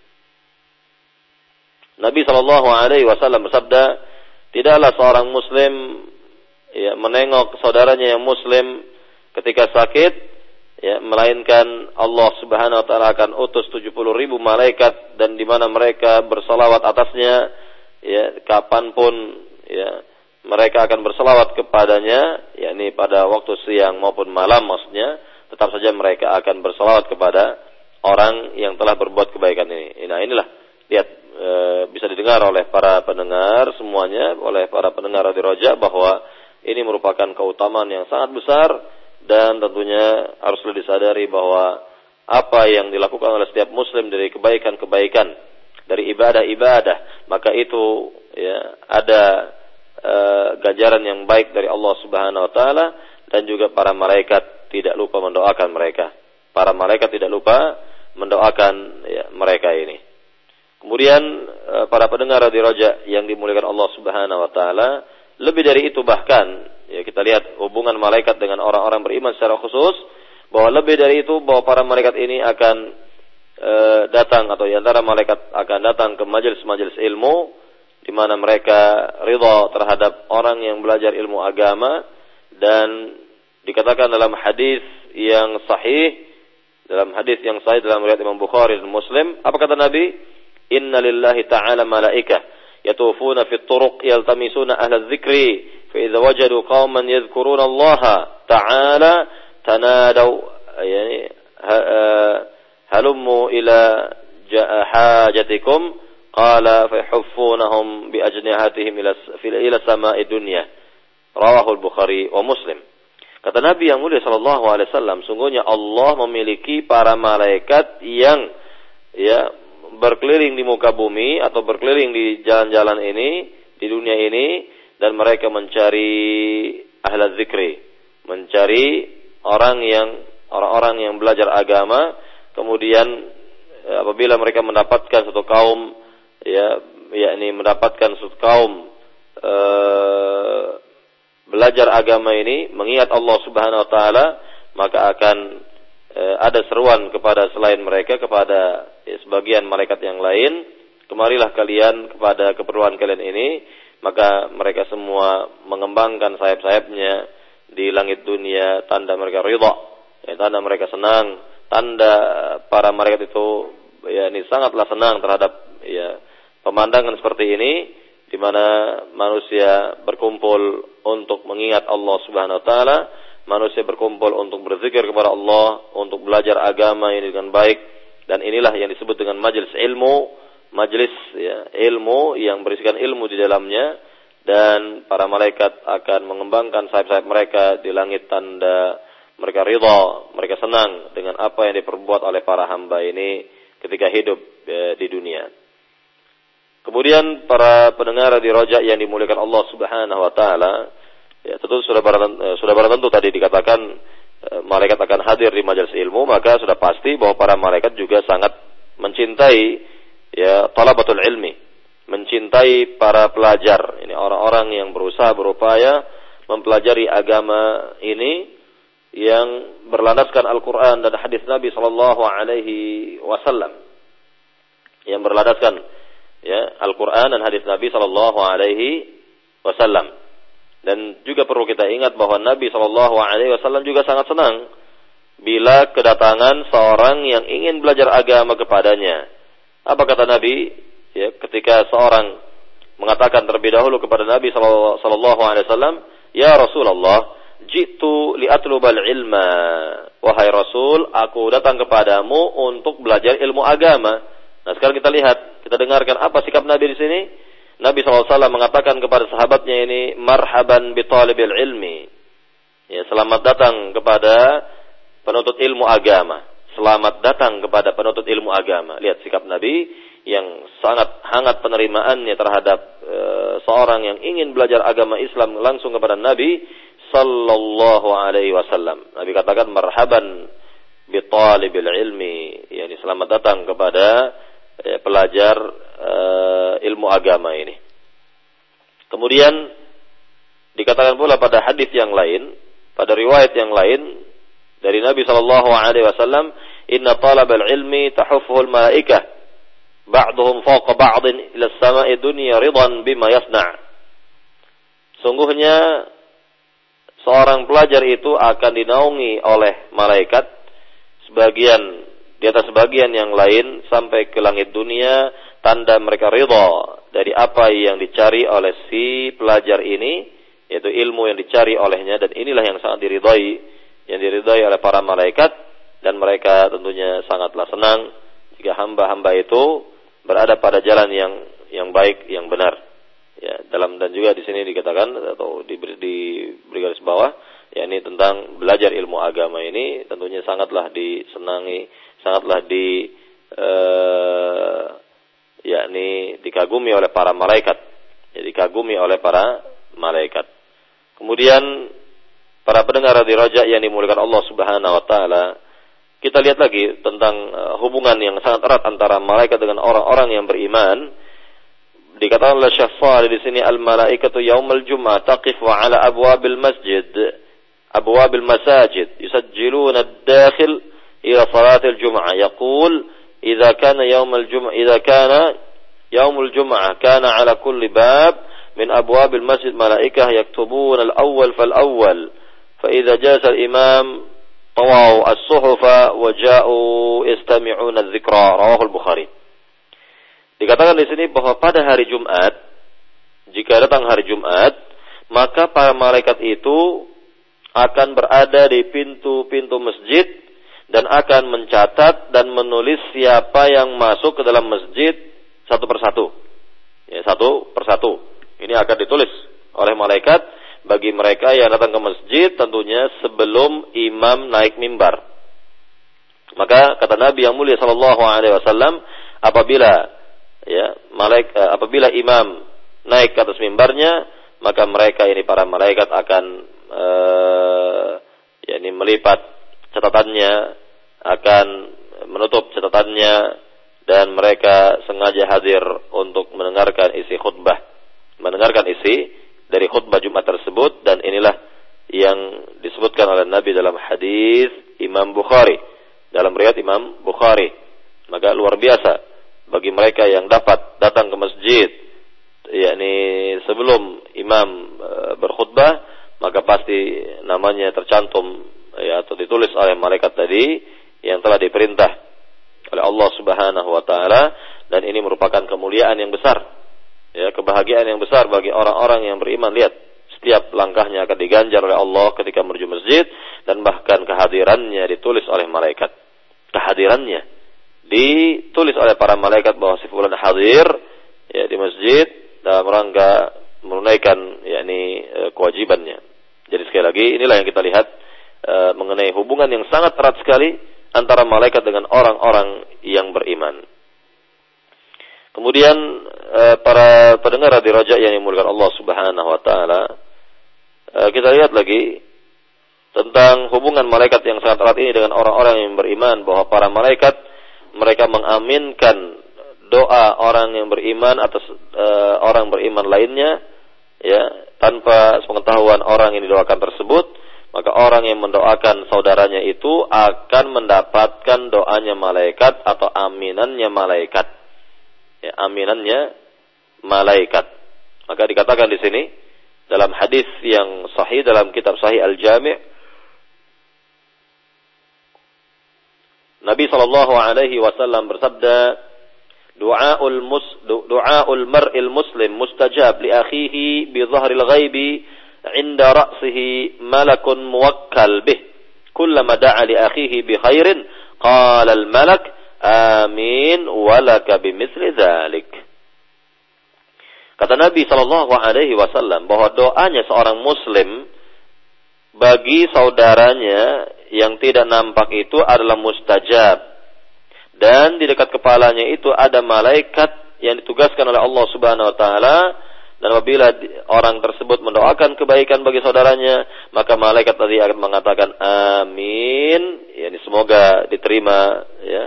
Nabi sallallahu alaihi wasallam bersabda, tidaklah seorang muslim menengok saudaranya yang muslim ketika sakit, melainkan Allah Subhanahu wa taala akan utus 70,000 malaikat, dan di mana mereka bersalawat atasnya, kapanpun mereka akan bersalawat kepadanya, yakni pada waktu siang maupun malam maksudnya, tetap saja mereka akan bersalawat kepada orang yang telah berbuat kebaikan ini. Nah, inilah lihat, bisa didengar oleh para pendengar semuanya, oleh para pendengar Radio Roja, bahwa ini merupakan keutamaan yang sangat besar, dan tentunya haruslah disadari bahwa apa yang dilakukan oleh setiap muslim dari kebaikan-kebaikan, dari ibadah-ibadah, maka itu ada ganjaran yang baik dari Allah Subhanahu wa taala, dan juga para malaikat tidak lupa mendoakan mereka. Para malaikat tidak lupa mendoakan mereka ini. Kemudian para pendengar Radio Roja yang dimuliakan Allah Subhanahu wa taala, lebih dari itu bahkan kita lihat hubungan malaikat dengan orang-orang beriman secara khusus, bahwa lebih dari itu bahwa para malaikat ini akan datang, atau di antara malaikat akan datang ke majelis-majelis ilmu di mana mereka ridha terhadap orang yang belajar ilmu agama. Dan dikatakan dalam hadis yang sahih dalam riwayat Imam Bukhari dan Muslim, apa kata Nabi? Inna lillahi ta'ala malaikah yatufuna fi turuq yaltamisuna ahla dzikri fa idza wajadu qauman yadhkuruna Allah ta'ala tanadaw halummu ila hajatikum qala fa yahuffunahum bi ajnihatihim ila sama'i dunya. Rawahu al-Bukhari wa Muslim. Kata Nabi yang mulia sallallahu alaihi wasallam, sungguhnya Allah memiliki para malaikat yang berkeliling di muka bumi atau berkeliling di jalan-jalan ini, di dunia ini, dan mereka mencari ahla zikri, mencari orang-orang yang belajar agama. Kemudian apabila mereka mendapatkan satu kaum, yakni mendapatkan satu kaum belajar agama ini, mengingat Allah Subhanahu wa taala, maka akan ada seruan kepada selain mereka, kepada sebagian malaikat yang lain, kemarilah kalian kepada keperluan kalian ini. Maka mereka semua mengembangkan sayap-sayapnya di langit dunia, tanda mereka ridha, tanda mereka senang, tanda para malaikat itu ini sangatlah senang terhadap pemandangan seperti ini, di mana manusia berkumpul untuk mengingat Allah Subhanahu wa taala, manusia berkumpul untuk berzikir kepada Allah, untuk belajar agama ini dengan baik, dan inilah yang disebut dengan majelis ilmu, ilmu yang berisikan ilmu di dalamnya, dan para malaikat akan mengembangkan sayap-sayap mereka di langit, tanda mereka ridha, mereka senang dengan apa yang diperbuat oleh para hamba ini ketika hidup di dunia. Kemudian para pendengar di Raja yang dimuliakan Allah Subhanahu wa taala, tentu sudah barang tentu tadi dikatakan malaikat akan hadir di majelis ilmu, maka sudah pasti bahwa para malaikat juga sangat mencintai talabatul ilmi, mencintai para pelajar. Ini orang-orang yang berusaha berupaya mempelajari agama ini yang berlandaskan Al-Qur'an dan hadis Nabi sallallahu alaihi wasallam. Yang berlandaskan Al-Quran dan hadis Nabi sallallahu alaihi wasallam. Dan juga perlu kita ingat bahwa Nabi sallallahu alaihi wasallam juga sangat senang bila kedatangan seorang yang ingin belajar agama kepadanya. Apa kata Nabi? Ketika seorang mengatakan terlebih dahulu kepada Nabi sallallahu alaihi wasallam, "Ya Rasulullah, jitu li'atlubal ilma." Wahai Rasul, aku datang kepadamu untuk belajar ilmu agama. Nah, sekarang kita lihat, kita dengarkan apa sikap Nabi di sini. Nabi SAW mengatakan kepada sahabatnya ini, marhaban bi talibil ilmi. Selamat datang kepada penuntut ilmu agama. Selamat datang kepada penuntut ilmu agama. Lihat sikap Nabi yang sangat hangat penerimaannya terhadap seorang yang ingin belajar agama Islam langsung kepada Nabi sallallahu alaihi wasallam. Nabi katakan marhaban bi talibil ilmi. Selamat datang kepada pelajar ilmu agama ini. Kemudian dikatakan pula pada hadis yang lain, pada riwayat yang lain dari Nabi sallallahu alaihi wasallam, inna talabal ilmi tahuffuhul malaikah ba'dhum fawqa ba'din ila as-sama'i dunya ridan bima yasna'. Sungguhnya seorang pelajar itu akan dinaungi oleh malaikat sebagian di atas sebagian yang lain sampai ke langit dunia, tanda mereka ridha dari apa yang dicari oleh si pelajar ini, yaitu ilmu yang dicari olehnya, dan inilah yang sangat diridhai oleh para malaikat, dan mereka tentunya sangatlah senang jika hamba-hamba itu berada pada jalan yang baik, yang benar. Dan juga di sini dikatakan atau diberi garis bawah, yakni tentang belajar ilmu agama ini tentunya sangatlah disenangi, sangatlah dikagumi oleh para malaikat. Dikagumi oleh para malaikat. Kemudian para pendengar di Raja yang dimuliakan Allah Subhanahu wa taala, kita lihat lagi tentang hubungan yang sangat erat antara malaikat dengan orang-orang yang beriman. Dikatakan oleh Syekh Shalih di sini, al-malaikatu yaumul jum'ah taqifu ala abwabil masajid yusajjiluna ad-dakhil ila salatil jum'ah, yaqul idza kana yaumul jum'ah kana ala kulli bab min abwabil masjid malaikah yaktubuna al-awwal fal-awwal fa idza jasa al-imam tawaw as-suhufa wa ja'u yastami'una adh-dhikra. Rawahu al-Bukhari. Dikatakan di sini bahwa pada hari Jumat, jika datang hari Jumat, maka para malaikat itu akan berada di pintu-pintu masjid dan akan mencatat dan menulis siapa yang masuk ke dalam masjid satu persatu. Ya, satu persatu. Ini akan ditulis oleh malaikat bagi mereka yang datang ke masjid tentunya sebelum imam naik mimbar. Maka kata Nabi yang mulia sallallahu alaihi wasallam, apabila imam naik ke atas mimbarnya, maka mereka ini para malaikat akan melipat catatannya, akan menutup catatannya, dan mereka sengaja hadir untuk mendengarkan isi khutbah, mendengarkan isi dari khutbah Jumat tersebut. Dan inilah yang disebutkan oleh Nabi dalam hadis Imam Bukhari, dalam riwayat Imam Bukhari. Maka luar biasa bagi mereka yang dapat datang ke masjid sebelum imam berkhutbah, maka pasti namanya tercantum atau ditulis oleh malaikat tadi yang telah diperintah oleh Allah Subhanahu wa taala. Dan ini merupakan kemuliaan yang besar, kebahagiaan yang besar bagi orang-orang yang beriman. Lihat, setiap langkahnya akan diganjar oleh Allah ketika menuju masjid, dan bahkan kehadirannya ditulis oleh malaikat. Kehadirannya ditulis oleh para malaikat bahwa si fulan hadir di masjid dalam rangka menunaikan kewajibannya. Jadi sekali lagi, inilah yang kita lihat mengenai hubungan yang sangat erat sekali antara malaikat dengan orang-orang yang beriman. Kemudian para pendengar di Raja yang dimuliakan Allah Subhanahu wa taala, kita lihat lagi tentang hubungan malaikat yang sangat erat ini dengan orang-orang yang beriman, bahwa para malaikat mereka mengaminkan doa orang yang beriman atas orang beriman lainnya, tanpa sepengetahuan orang yang didoakan tersebut. Maka orang yang mendoakan saudaranya itu akan mendapatkan doanya malaikat atau aminannya malaikat. Aminannya malaikat. Maka dikatakan di sini dalam hadis yang sahih dalam kitab Sahih Al-Jami', Nabi sallallahu alaihi wasallam bersabda, Du'aul mar'il muslim mustajab li akhihi bi dhahril ghaibi 'inda ra'sihi malakun muwakkal bih. Kullama da'a li akhihi bi khairin qala al malak amin wa laka bimithli dzalik. Kata Nabi sallallahu alaihi wasallam bahwa doanya seorang muslim bagi saudaranya yang tidak nampak itu adalah mustajab, dan di dekat kepalanya itu ada malaikat yang ditugaskan oleh Allah Subhanahu wa taala. Dan apabila orang tersebut mendoakan kebaikan bagi saudaranya, maka malaikat tadi akan mengatakan amin, semoga diterima,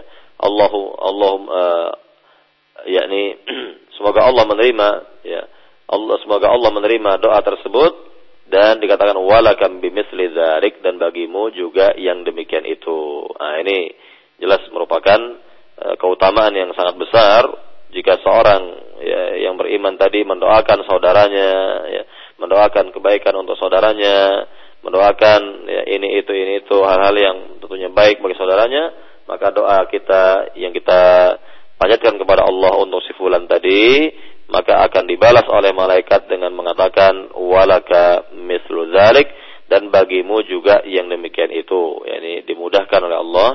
semoga Allah menerima, semoga Allah menerima doa tersebut. Dan dikatakan walakam bimithli dzalik, dan bagimu juga yang demikian itu. Ini jelas merupakan keutamaan yang sangat besar jika seorang yang beriman tadi mendoakan saudaranya, mendoakan kebaikan untuk saudaranya, mendoakan ini itu hal-hal yang tentunya baik bagi saudaranya. Maka doa kita yang kita panjatkan kepada Allah untuk si fulan tadi, maka akan dibalas oleh malaikat dengan mengatakan walaka mislu dzalik, dan bagimu juga yang demikian itu. Dimudahkan oleh Allah,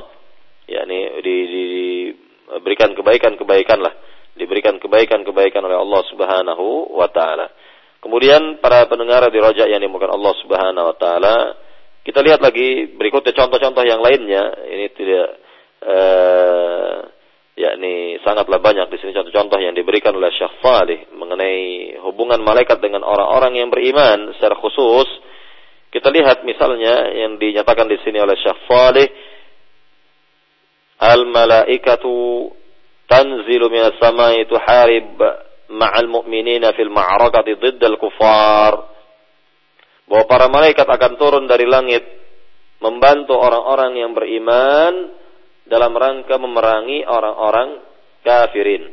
diberikan kebaikan oleh Allah Subhanahu wa taala. Kemudian para pendengar di Raja yang dimuliakan Allah Subhanahu wa taala, kita lihat lagi berikutnya contoh-contoh yang lainnya. Ini tidak sangatlah banyak di sini contoh-contoh yang diberikan oleh Syekh Salih mengenai hubungan malaikat dengan orang-orang yang beriman secara khusus. Kita lihat misalnya yang dinyatakan di sini oleh Syekh Salih, al-malaikatu tanzilu minas samai tuharib ma'al mu'minina fil ma'rakati diddal kufar. Bahwa para malaikat akan turun dari langit membantu orang-orang yang beriman dalam rangka memerangi orang-orang kafirin.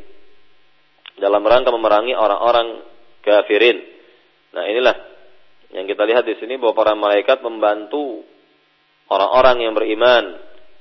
Nah, inilah yang kita lihat di sini, bahwa para malaikat membantu orang-orang yang beriman,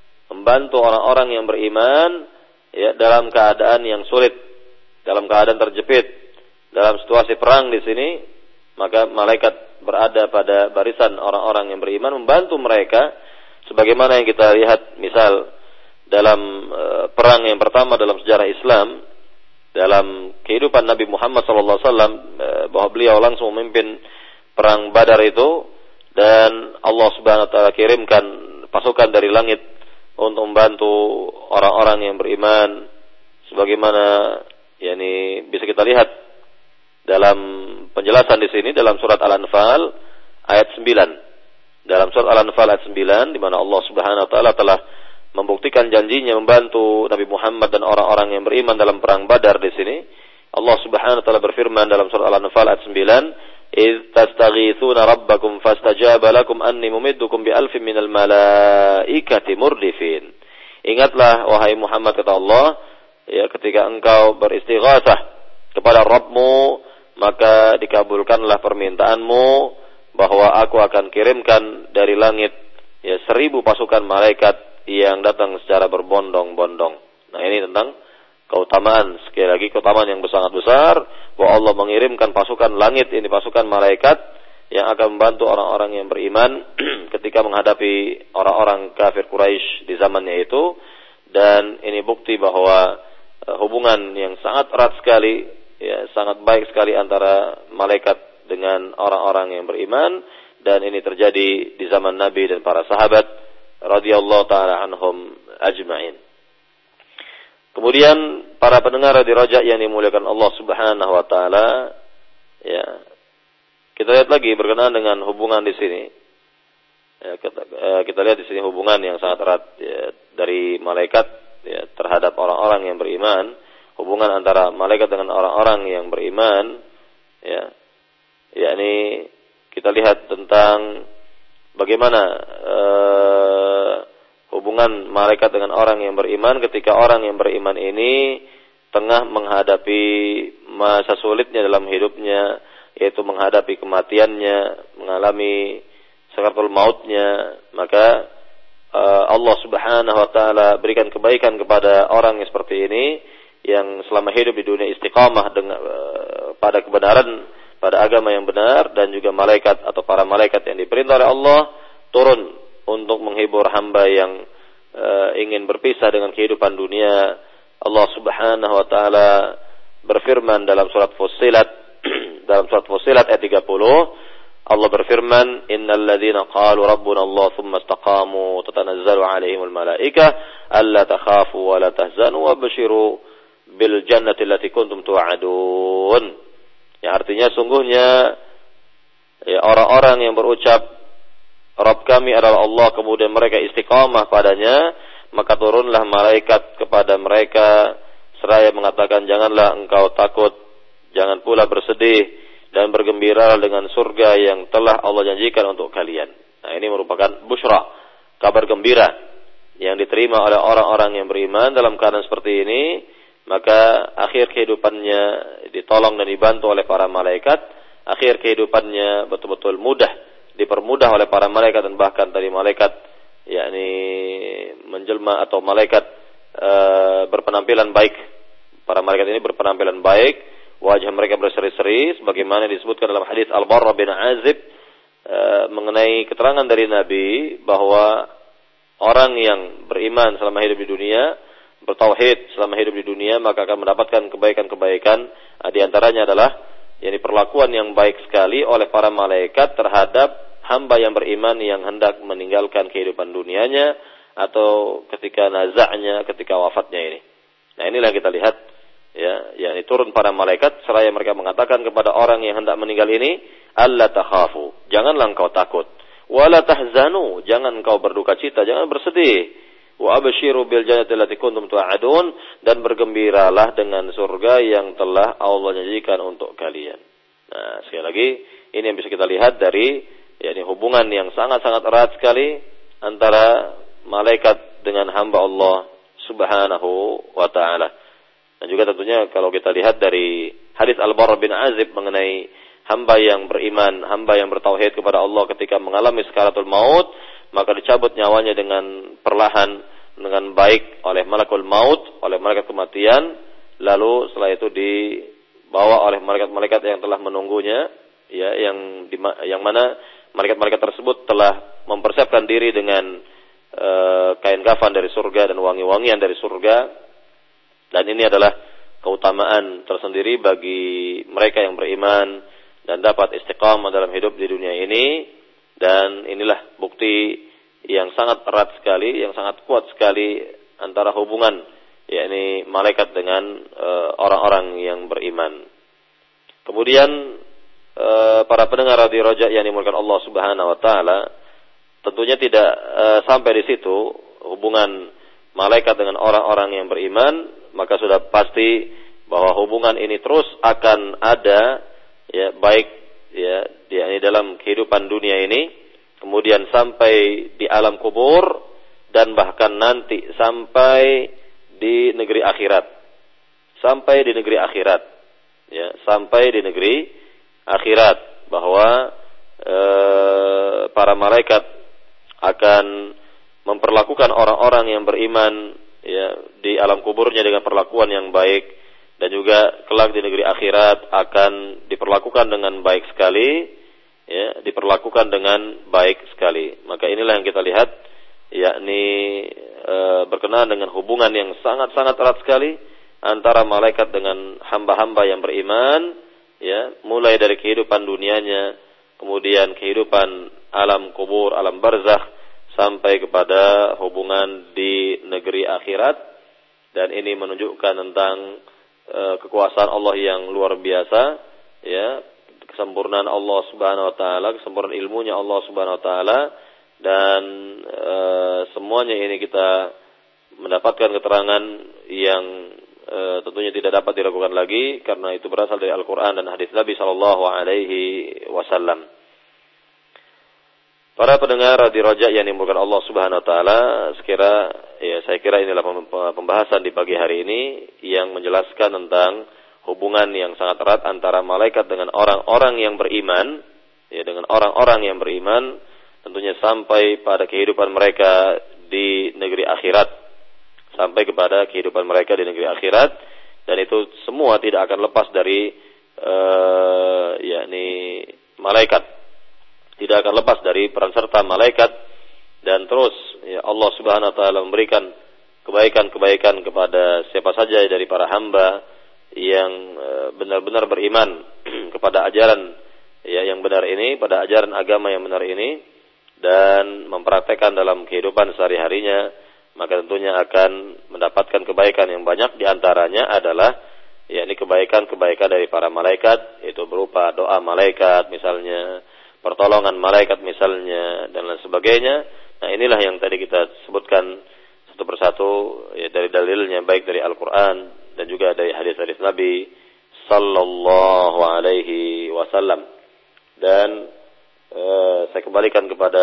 dalam keadaan yang sulit, dalam keadaan terjepit, dalam situasi perang di sini. Maka malaikat berada pada barisan orang-orang yang beriman, membantu mereka sebagaimana yang kita lihat misal dalam perang yang pertama dalam sejarah Islam, dalam kehidupan Nabi Muhammad SAW, bahwa beliau langsung memimpin perang Badar itu, dan Allah Subhanahu wa taala kirimkan pasukan dari langit untuk membantu orang-orang yang beriman, sebagaimana bisa kita lihat dalam penjelasan di sini dalam surat Al-Anfal ayat 9. Dalam surat Al-Anfal ayat 9, di mana Allah Subhanahu wa taala telah membuktikan janjinya membantu Nabi Muhammad dan orang-orang yang beriman dalam perang Badar di sini. Allah Subhanahu wa taala berfirman dalam surat Al-Anfal ayat 9, "Idz tastaghitsuna rabbakum fastajaba lakum anni mumiddukum bi alfin minal malaikati murdifin." Ingatlah wahai Muhammad, kata Allah, ketika engkau beristighatsah kepada Rabbmu, maka dikabulkanlah permintaanmu bahwa aku akan kirimkan dari langit 1000 pasukan malaikat yang datang secara berbondong-bondong. Nah, ini tentang keutamaan, sekali lagi keutamaan yang sangat besar, bahwa Allah mengirimkan pasukan langit, ini pasukan malaikat yang akan membantu orang-orang yang beriman ketika menghadapi orang-orang kafir Quraisy di zamannya itu. Dan ini bukti bahwa hubungan yang sangat erat sekali, sangat baik sekali antara malaikat dengan orang-orang yang beriman, dan ini terjadi di zaman Nabi dan para sahabat radhiyallahu taala anhum ajma'in. Kemudian para pendengar di Raja yang dimuliakan Allah Subhanahu wa taala, kita lihat lagi berkenaan dengan hubungan di sini. Kita lihat di sini hubungan yang sangat erat dari malaikat terhadap orang-orang yang beriman, hubungan antara malaikat dengan orang-orang yang beriman, yakni kita lihat tentang bagaimana hubungan malaikat dengan orang yang beriman ketika orang yang beriman ini tengah menghadapi masa sulitnya dalam hidupnya, yaitu menghadapi kematiannya, mengalami sakaratul mautnya. Maka Allah Subhanahu wa taala berikan kebaikan kepada orang yang seperti ini, yang selama hidup di dunia istiqamah dengan pada kebenaran, pada agama yang benar, dan juga malaikat atau para malaikat yang diperintah oleh Allah turun untuk menghibur hamba yang ingin berpisah dengan kehidupan dunia. Allah Subhanahu wa taala berfirman dalam surat Fussilat dalam surat Fussilat ayat 30, Allah berfirman, "Innal ladzina qalu rabbuna Allah tsumma istaqamu tatanazzalu 'alaihimul malaikah alla takhafu wa la tahzanu wabshiru bil jannati allati kuntum tu'adun." Ya, artinya sungguhnya orang-orang yang berucap Rabb kami adalah Allah, kemudian mereka istiqamah padanya, maka turunlah malaikat kepada mereka seraya mengatakan, janganlah engkau takut, jangan pula bersedih, dan bergembiralah dengan surga yang telah Allah janjikan untuk kalian. Nah, ini merupakan busyra, kabar gembira yang diterima oleh orang-orang yang beriman dalam keadaan seperti ini. Maka akhir kehidupannya ditolong dan dibantu oleh para malaikat, akhir kehidupannya betul-betul mudah, dipermudah oleh para malaikat, dan bahkan tadi malaikat menjelma atau malaikat berpenampilan baik. Para malaikat ini berpenampilan baik, wajah mereka berseri-seri, sebagaimana disebutkan dalam hadis Al-Barra bin Azib mengenai keterangan dari Nabi bahwa orang yang beriman selama hidup di dunia, bertauhid selama hidup di dunia, maka akan mendapatkan kebaikan-kebaikan. Di antaranya adalah perlakuan yang baik sekali oleh para malaikat terhadap hamba yang beriman yang hendak meninggalkan kehidupan dunianya atau ketika nazaknya, ketika wafatnya ini. Nah, inilah kita lihat yakni turun para malaikat seraya mereka mengatakan kepada orang yang hendak meninggal ini, alla takhafu, janganlah engkau takut, wala tahzanu, jangan engkau berduka cita, jangan bersedih, wa abshiru bil jannati allati kuntum tu'adun, dan bergembiralah dengan surga yang telah Allah janjikan untuk kalian. Nah, sekali lagi ini yang bisa kita lihat dari hubungan yang sangat-sangat erat sekali antara malaikat dengan hamba Allah Subhanahu wa taala. Dan juga tentunya kalau kita lihat dari hadis Al-Barra bin Azib mengenai hamba yang beriman, hamba yang bertauhid kepada Allah ketika mengalami sakaratul maut, maka dicabut nyawanya dengan perlahan, dengan baik oleh malakul maut, oleh malaikat kematian, lalu setelah itu dibawa oleh malaikat-malaikat yang telah menunggunya, yang mana malaikat-malaikat tersebut telah mempersiapkan diri dengan kain kafan dari surga dan wangi-wangian dari surga. Dan ini adalah keutamaan tersendiri bagi mereka yang beriman dan dapat istiqamah dalam hidup di dunia ini. Dan inilah bukti yang sangat erat sekali, yang sangat kuat sekali antara hubungan yakni malaikat dengan orang-orang yang beriman. Kemudian para pendengar Radio Roja yang dimulakan Allah Subhanahu wa taala, tentunya tidak sampai di situ hubungan malaikat dengan orang-orang yang beriman, maka sudah pasti bahwa hubungan ini terus akan ada, ya, baik ya yakni dalam kehidupan dunia ini, kemudian sampai di alam kubur, dan bahkan nanti sampai di negeri akhirat. Sampai di negeri akhirat. Ya, sampai di negeri akhirat, bahwa para malaikat akan memperlakukan orang-orang yang beriman, ya, di alam kuburnya dengan perlakuan yang baik, dan juga kelak di negeri akhirat akan diperlakukan dengan baik sekali, ya, diperlakukan dengan baik sekali. Maka inilah yang kita lihat, yakni berkenaan dengan hubungan yang sangat-sangat erat sekali antara malaikat dengan hamba-hamba yang beriman, ya, mulai dari kehidupan dunianya, kemudian kehidupan alam kubur, alam barzakh, sampai kepada hubungan di negeri akhirat. Dan ini menunjukkan tentang kekuasaan Allah yang luar biasa, ya, kesempurnaan Allah Subhanahu wa taala, kesempurnaan ilmunya Allah Subhanahu wa taala, dan semuanya ini kita mendapatkan keterangan yang tentunya tidak dapat diragukan lagi, karena itu berasal dari Al-Quran dan hadis Nabi sallallahu alaihi wasallam. Para pendengar Radio Roja yang dimulakan Allah Subhanahu wa taala, saya kira inilah pembahasan di pagi hari ini yang menjelaskan tentang hubungan yang sangat erat antara malaikat dengan orang-orang yang beriman, ya, dengan orang-orang yang beriman, tentunya sampai pada kehidupan mereka di negeri akhirat, sampai kepada kehidupan mereka di negeri akhirat. Dan itu semua tidak akan lepas dari yakni malaikat, tidak akan lepas dari peran serta malaikat. Dan terus, ya, Allah Subhanahu wa taala memberikan kebaikan-kebaikan kepada siapa saja dari para hamba yang benar-benar beriman kepada ajaran, ya, yang benar ini, pada ajaran agama yang benar ini, dan mempraktekkan dalam kehidupan sehari-harinya, maka tentunya akan mendapatkan kebaikan yang banyak. Di antaranya adalah, yakni kebaikan-kebaikan dari para malaikat, itu berupa doa malaikat misalnya, pertolongan malaikat misalnya, dan lain sebagainya. Nah, inilah yang tadi kita sebutkan satu persatu, ya, dari dalilnya, baik dari Al-Quran dan juga dari hadis-hadis Nabi sallallahu alaihi wasallam. Dan saya kembalikan kepada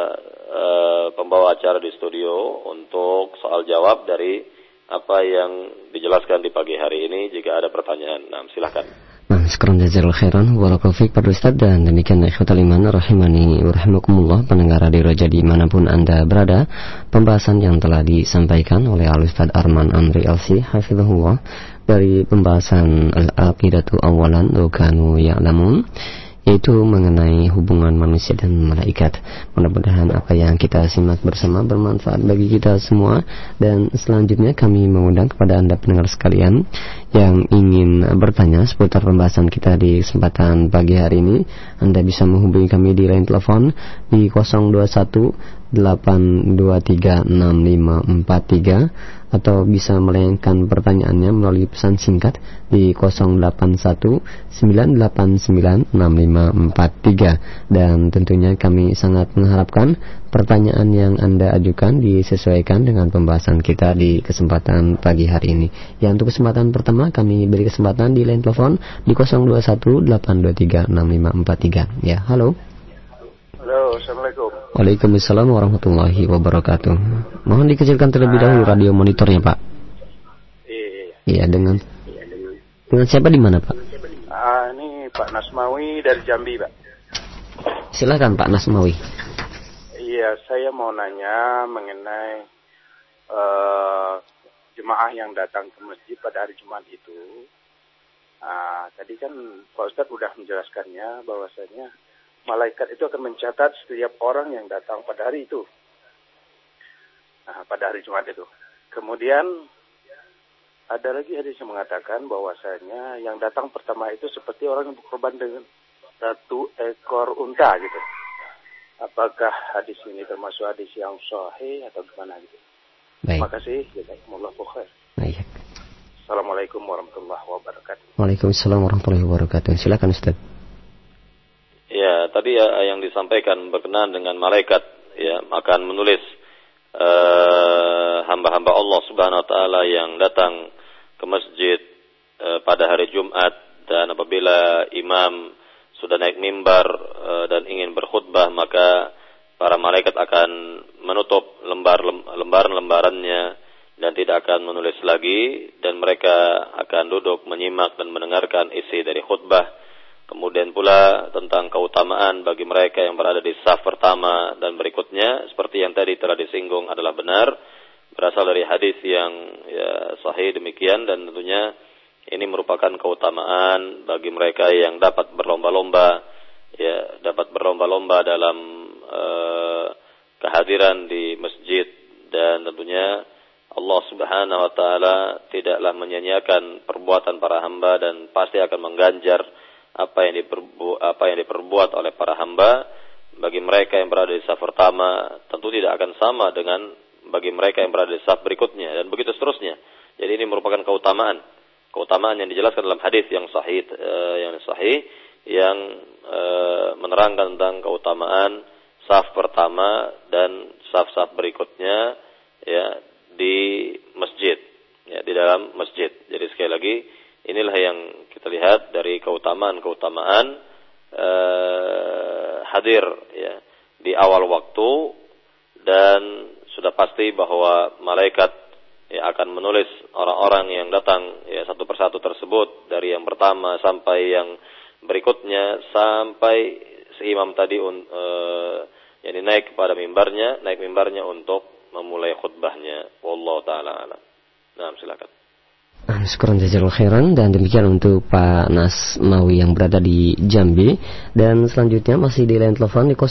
pembawa acara di studio untuk soal jawab dari apa yang dijelaskan di pagi hari ini. Jika ada pertanyaan, silakan. Sekarang jazakallahu khairan walaupun fiik Pak Ustaz. Dan demikian ikhwatal iman rahimani wa rahimakumullah, pendengar Radio Roja dimanapun Anda berada, pembahasan yang telah disampaikan oleh Al-Ustaz Arman Amri LC hafizahullah dari pembahasan Al-Aqidatu Awalan wa Kanu Ya'lamun, yaitu mengenai hubungan manusia dan malaikat. Mudah-mudahan apa yang kita simak bersama bermanfaat bagi kita semua. Dan selanjutnya kami mengundang kepada Anda pendengar sekalian yang ingin bertanya seputar pembahasan kita di kesempatan pagi hari ini, Anda bisa menghubungi kami di line telepon di 021 823 6543, atau bisa melayangkan pertanyaannya melalui pesan singkat di 081 989 6543. Dan tentunya kami sangat mengharapkan pertanyaan yang Anda ajukan disesuaikan dengan pembahasan kita di kesempatan pagi hari ini. Ya, untuk kesempatan pertama kami beri kesempatan di line telepon di 021 823 6543. Ya, halo. Halo, Assalamualaikum. Waalaikumsalam warahmatullahi wabarakatuh. Mohon dikecilkan terlebih dahulu radio monitornya, Pak. Iya, dengan siapa di mana, Pak? Ini Pak Nasmawi dari Jambi, Pak. Silakan Pak Nasmawi. Iya, saya mau nanya mengenai jemaah yang datang ke masjid pada hari Jumat itu. Tadi kan Pak Ustadz sudah menjelaskannya bahwasanya malaikat itu akan mencatat setiap orang yang datang pada hari itu. pada hari Jumat itu. Kemudian ada lagi hadis yang mengatakan bahwasanya yang datang pertama itu seperti orang yang berkorban dengan 1 ekor unta gitu. Apakah hadis ini termasuk hadis yang sahih atau gimana gitu? Baik. Terima kasih. Jazakumullah khair. Baik. Assalamualaikum warahmatullahi wabarakatuh. Waalaikumsalam warahmatullahi wabarakatuh. Silakan Ustaz. Ya, tadi yang disampaikan berkenaan dengan malaikat ya akan menulis hamba-hamba Allah Subhanahu wa taala yang datang ke masjid pada hari Jumat, dan apabila imam sudah naik mimbar dan ingin berkhutbah, maka para malaikat akan menutup lembaran-lembarannya dan tidak akan menulis lagi, dan mereka akan duduk menyimak dan mendengarkan isi dari khutbah. Kemudian pula tentang keutamaan bagi mereka yang berada di saf pertama dan berikutnya, seperti yang tadi telah disinggung adalah benar, berasal dari hadis yang ya sahih demikian, dan tentunya ini merupakan keutamaan bagi mereka yang dapat berlomba-lomba dalam kehadiran di masjid, dan tentunya Allah Subhanahu wa taala tidaklah menyia-nyiakan perbuatan para hamba dan pasti akan mengganjar apa yang diperbuat oleh para hamba. Bagi mereka yang berada di saf pertama tentu tidak akan sama dengan bagi mereka yang berada di saf berikutnya, dan begitu seterusnya. Jadi ini merupakan keutamaan yang dijelaskan dalam hadis yang sahih yang menerangkan tentang keutamaan saf pertama dan saf-saf berikutnya ya di masjid, ya di dalam masjid. Jadi sekali lagi inilah yang kita lihat dari keutamaan hadir ya di awal waktu, dan sudah pasti bahwa malaikat ya akan menulis orang-orang yang datang ya satu persatu tersebut, dari yang pertama sampai yang berikutnya, sampai si imam tadi yang naik mimbarnya untuk memulai khutbahnya. Wallahu taala alam. Nah, silakan. Syukran jazakallahu khairan, dan demikian untuk Pak Nasmawi yang berada di Jambi. Dan selanjutnya masih di line telepon di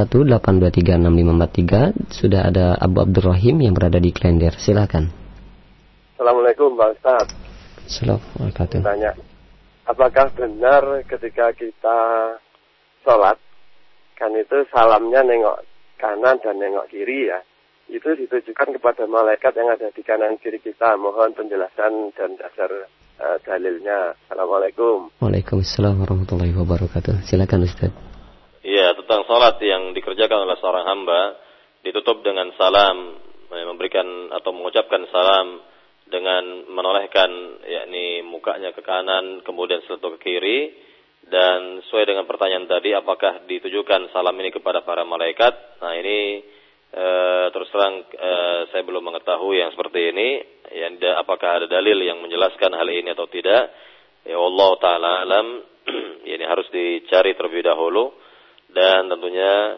0218236543 sudah ada Abu Abdurrahim yang berada di Klender. Silakan. Assalamualaikum Pak Ustaz. Assalamualaikum. Tanya, apakah benar ketika kita sholat kan itu salamnya nengok kanan dan nengok kiri ya, itu ditujukan kepada malaikat yang ada di kanan kiri kita? Mohon penjelasan dan dasar dalilnya. Assalamualaikum. Waalaikumsalam warahmatullahi wabarakatuh. Silakan Ustaz. Iya, tentang salat yang dikerjakan oleh seorang hamba ditutup dengan salam, memberikan atau mengucapkan salam dengan menolehkan yakni mukanya ke kanan kemudian setelah ke kiri. Dan sesuai dengan pertanyaan tadi, apakah ditujukan salam ini kepada para malaikat? Nah, ini terus terang saya belum mengetahui yang seperti ini. Apakah ada dalil yang menjelaskan hal ini atau tidak? Ya Allah taala alam. Ini harus dicari terlebih dahulu. Dan tentunya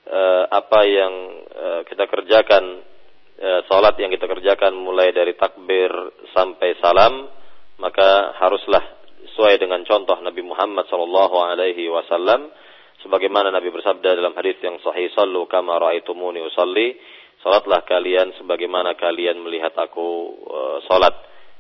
apa yang kita kerjakan, salat yang kita kerjakan mulai dari takbir sampai salam, maka haruslah sesuai dengan contoh Nabi Muhammad SAW, sebagaimana Nabi bersabda dalam hadis yang sahih, "Shallu kama ra'aitumuni usalli." Salatlah kalian sebagaimana kalian melihat aku salat.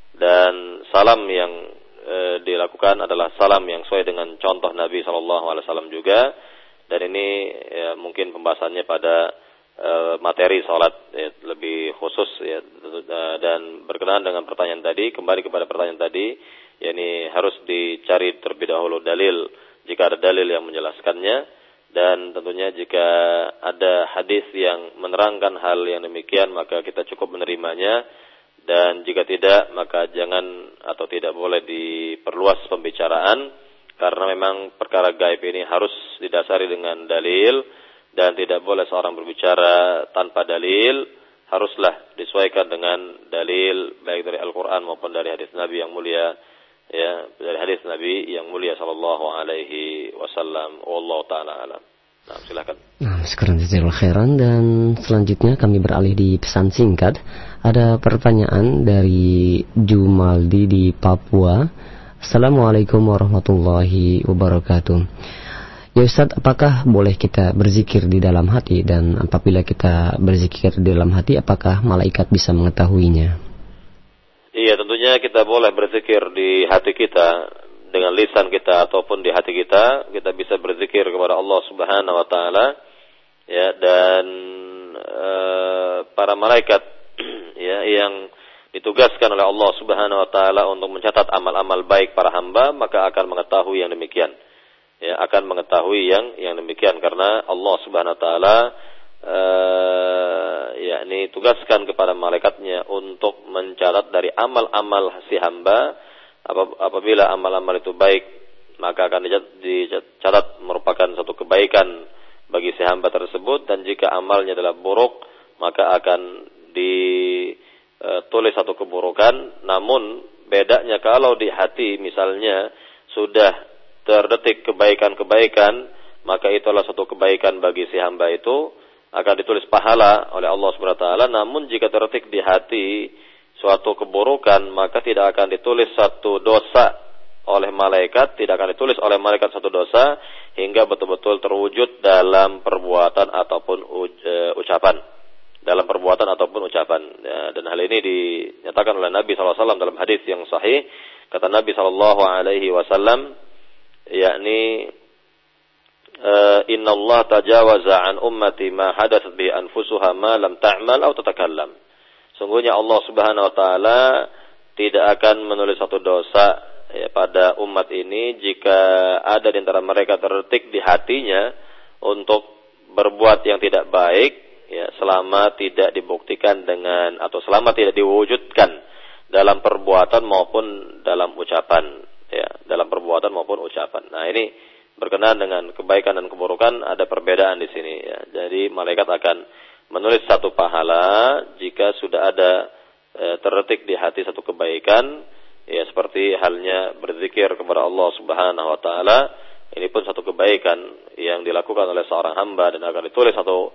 Dan salam yang dilakukan adalah salam yang sesuai dengan contoh Nabi SAW juga. Dan ini ya, mungkin pembahasannya pada materi salat ya, lebih khusus ya. Dan berkenaan dengan pertanyaan tadi, kembali kepada pertanyaan tadi, yakni harus dicari terlebih dahulu dalil jika ada dalil yang menjelaskannya, dan tentunya jika ada hadis yang menerangkan hal yang demikian maka kita cukup menerimanya, dan jika tidak maka jangan atau tidak boleh diperluas pembicaraan, karena memang perkara gaib ini harus didasari dengan dalil, dan tidak boleh seorang berbicara tanpa dalil, haruslah disesuaikan dengan dalil baik dari Al-Quran maupun dari hadis Nabi yang mulia, ya, dari hadis Nabi yang mulia sallallahu alaihi wasallam. Wallahu taala alam. Nah, silakan. Nah, sekarang jazakallahu khairan, dan selanjutnya kami beralih di pesan singkat. Ada pertanyaan dari Jumaldi di Papua. Assalamualaikum warahmatullahi wabarakatuh. Ya Ustaz, apakah boleh kita berzikir di dalam hati, dan apabila kita berzikir di dalam hati, apakah malaikat bisa mengetahuinya? Iya, tentunya kita boleh berzikir di hati kita, dengan lisan kita ataupun di hati kita bisa berzikir kepada Allah Subhanahu wa taala. Ya, dan para malaikat ya yang ditugaskan oleh Allah Subhanahu wa taala untuk mencatat amal-amal baik para hamba, maka akan mengetahui yang demikian. Ya, akan mengetahui yang demikian, karena Allah Subhanahu wa taala yakni tugaskan kepada malaikatnya untuk mencatat dari amal-amal si hamba. Apabila amal-amal itu baik, maka akan dicatat merupakan satu kebaikan bagi si hamba tersebut, dan jika amalnya adalah buruk, maka akan ditulis satu keburukan. Namun bedanya kalau di hati misalnya sudah terdetik kebaikan-kebaikan, maka itulah satu kebaikan bagi si hamba, itu akan ditulis pahala oleh Allah Subhanahu wa taala. Namun jika terdetik di hati suatu keburukan, maka tidak akan ditulis satu dosa oleh malaikat, tidak akan ditulis oleh malaikat satu dosa hingga betul-betul terwujud dalam perbuatan ataupun ucapan. Dalam perbuatan ataupun ucapan. Ya, dan hal ini dinyatakan oleh Nabi SAW dalam hadis yang sahih. Kata Nabi SAW, yakni Inna Allah tajawaza an ummati ma hadatsat bi anfusuha ma lam ta'mal aw tatakallam. Sungguhnya Allah Subhanahu wa taala tidak akan menulis satu dosa ya, pada umat ini jika ada di antara mereka terdetik di hatinya untuk berbuat yang tidak baik, ya, selama tidak dibuktikan dengan atau selama tidak diwujudkan dalam perbuatan maupun dalam ucapan. Ya, dalam perbuatan maupun ucapan. Nah, ini berkenaan dengan kebaikan dan keburukan, ada perbedaan di sini. Ya. Jadi malaikat akan menulis satu pahala jika sudah ada terdetik di hati satu kebaikan, ya, seperti halnya berzikir kepada Allah Subhanahu wa taala. Ini pun satu kebaikan yang dilakukan oleh seorang hamba, dan akan ditulis satu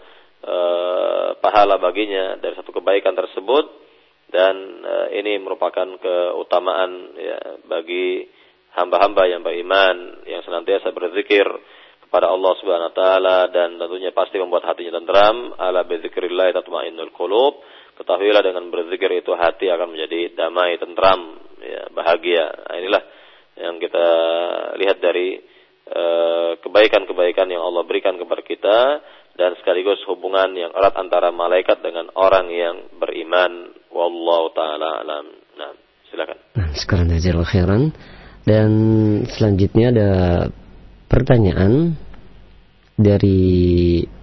pahala baginya dari satu kebaikan tersebut. Dan ini merupakan keutamaan ya, bagi hamba-hamba yang beriman, yang senantiasa berzikir kepada Allah Subhanahu wa taala, dan tentunya pasti membuat hatinya tenteram. Ala bizikrillah tatma'innul qulub. Ketahuilah dengan berzikir itu hati akan menjadi damai, tenteram, ya, bahagia. Nah, inilah yang kita lihat dari kebaikan-kebaikan yang Allah berikan kepada kita, dan sekaligus hubungan yang erat antara malaikat dengan orang yang beriman. Wallahu taala alam. Nah, silakan. Sekarang jazakallahu khairan. Dan selanjutnya ada pertanyaan dari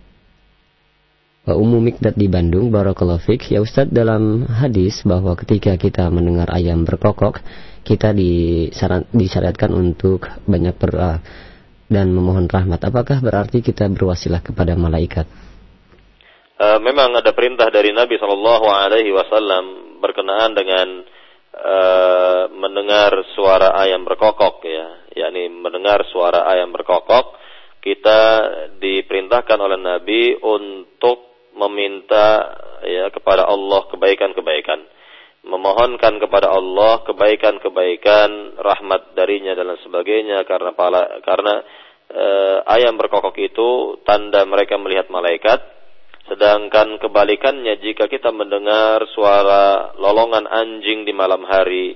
Ummu Mikdad di Bandung. Barakallahu fiik. Ya Ustaz, dalam hadis bahwa ketika kita mendengar ayam berkokok, kita disyariatkan untuk banyak berdoa dan memohon rahmat. Apakah berarti kita berwasilah kepada malaikat? Memang ada perintah dari Nabi SAW berkenaan dengan mendengar suara ayam berkokok, ya, yakni mendengar suara ayam berkokok, kita diperintahkan oleh Nabi untuk meminta ya kepada Allah kebaikan-kebaikan, memohonkan kepada Allah kebaikan-kebaikan, rahmat darinya dan lain sebagainya, karena ayam berkokok itu tanda mereka melihat malaikat. Sedangkan kebalikannya, jika kita mendengar suara lolongan anjing di malam hari,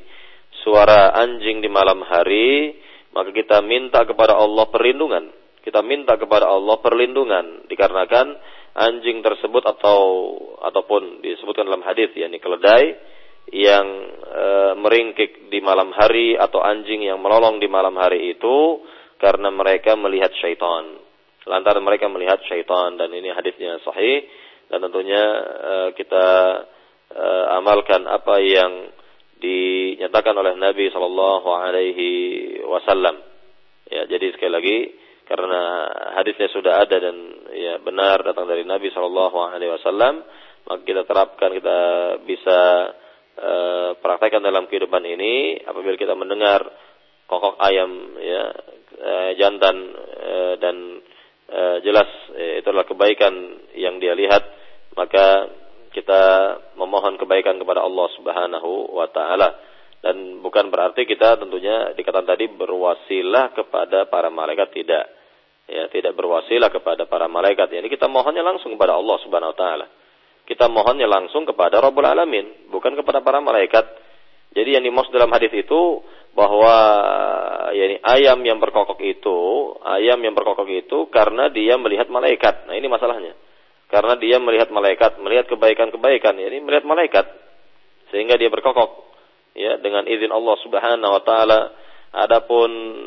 maka kita minta kepada Allah perlindungan. Dikarenakan anjing tersebut ataupun disebutkan dalam hadis, yakni keledai yang meringkik di malam hari atau anjing yang melolong di malam hari itu karena mereka melihat syaitan. Lantaran mereka melihat syaitan, dan ini hadisnya sahih, dan tentunya kita amalkan apa yang dinyatakan oleh Nabi SAW. Ya, jadi sekali lagi, karena hadisnya sudah ada dan ya benar datang dari Nabi SAW, maka kita terapkan, kita bisa praktekkan dalam kehidupan ini. Apabila kita mendengar kokok ayam ya jantan dan jelas itu adalah kebaikan yang dia lihat, maka kita memohon kebaikan kepada Allah Subhanahu wa taala. Dan bukan berarti kita tentunya dikatakan tadi berwasilah kepada para malaikat, tidak. Ya, tidak berwasilah kepada para malaikat. Ini kita mohonnya langsung kepada Allah Subhanahu wa taala. Kita mohonnya langsung kepada Rabbul Alamin, bukan kepada para malaikat. Jadi yang dimaksud dalam hadis itu bahwa yakni ayam yang berkokok itu karena dia melihat malaikat. Nah, ini masalahnya. Karena dia melihat malaikat, melihat kebaikan-kebaikan, yakni melihat malaikat sehingga dia berkokok ya dengan izin Allah Subhanahu wa taala. Adapun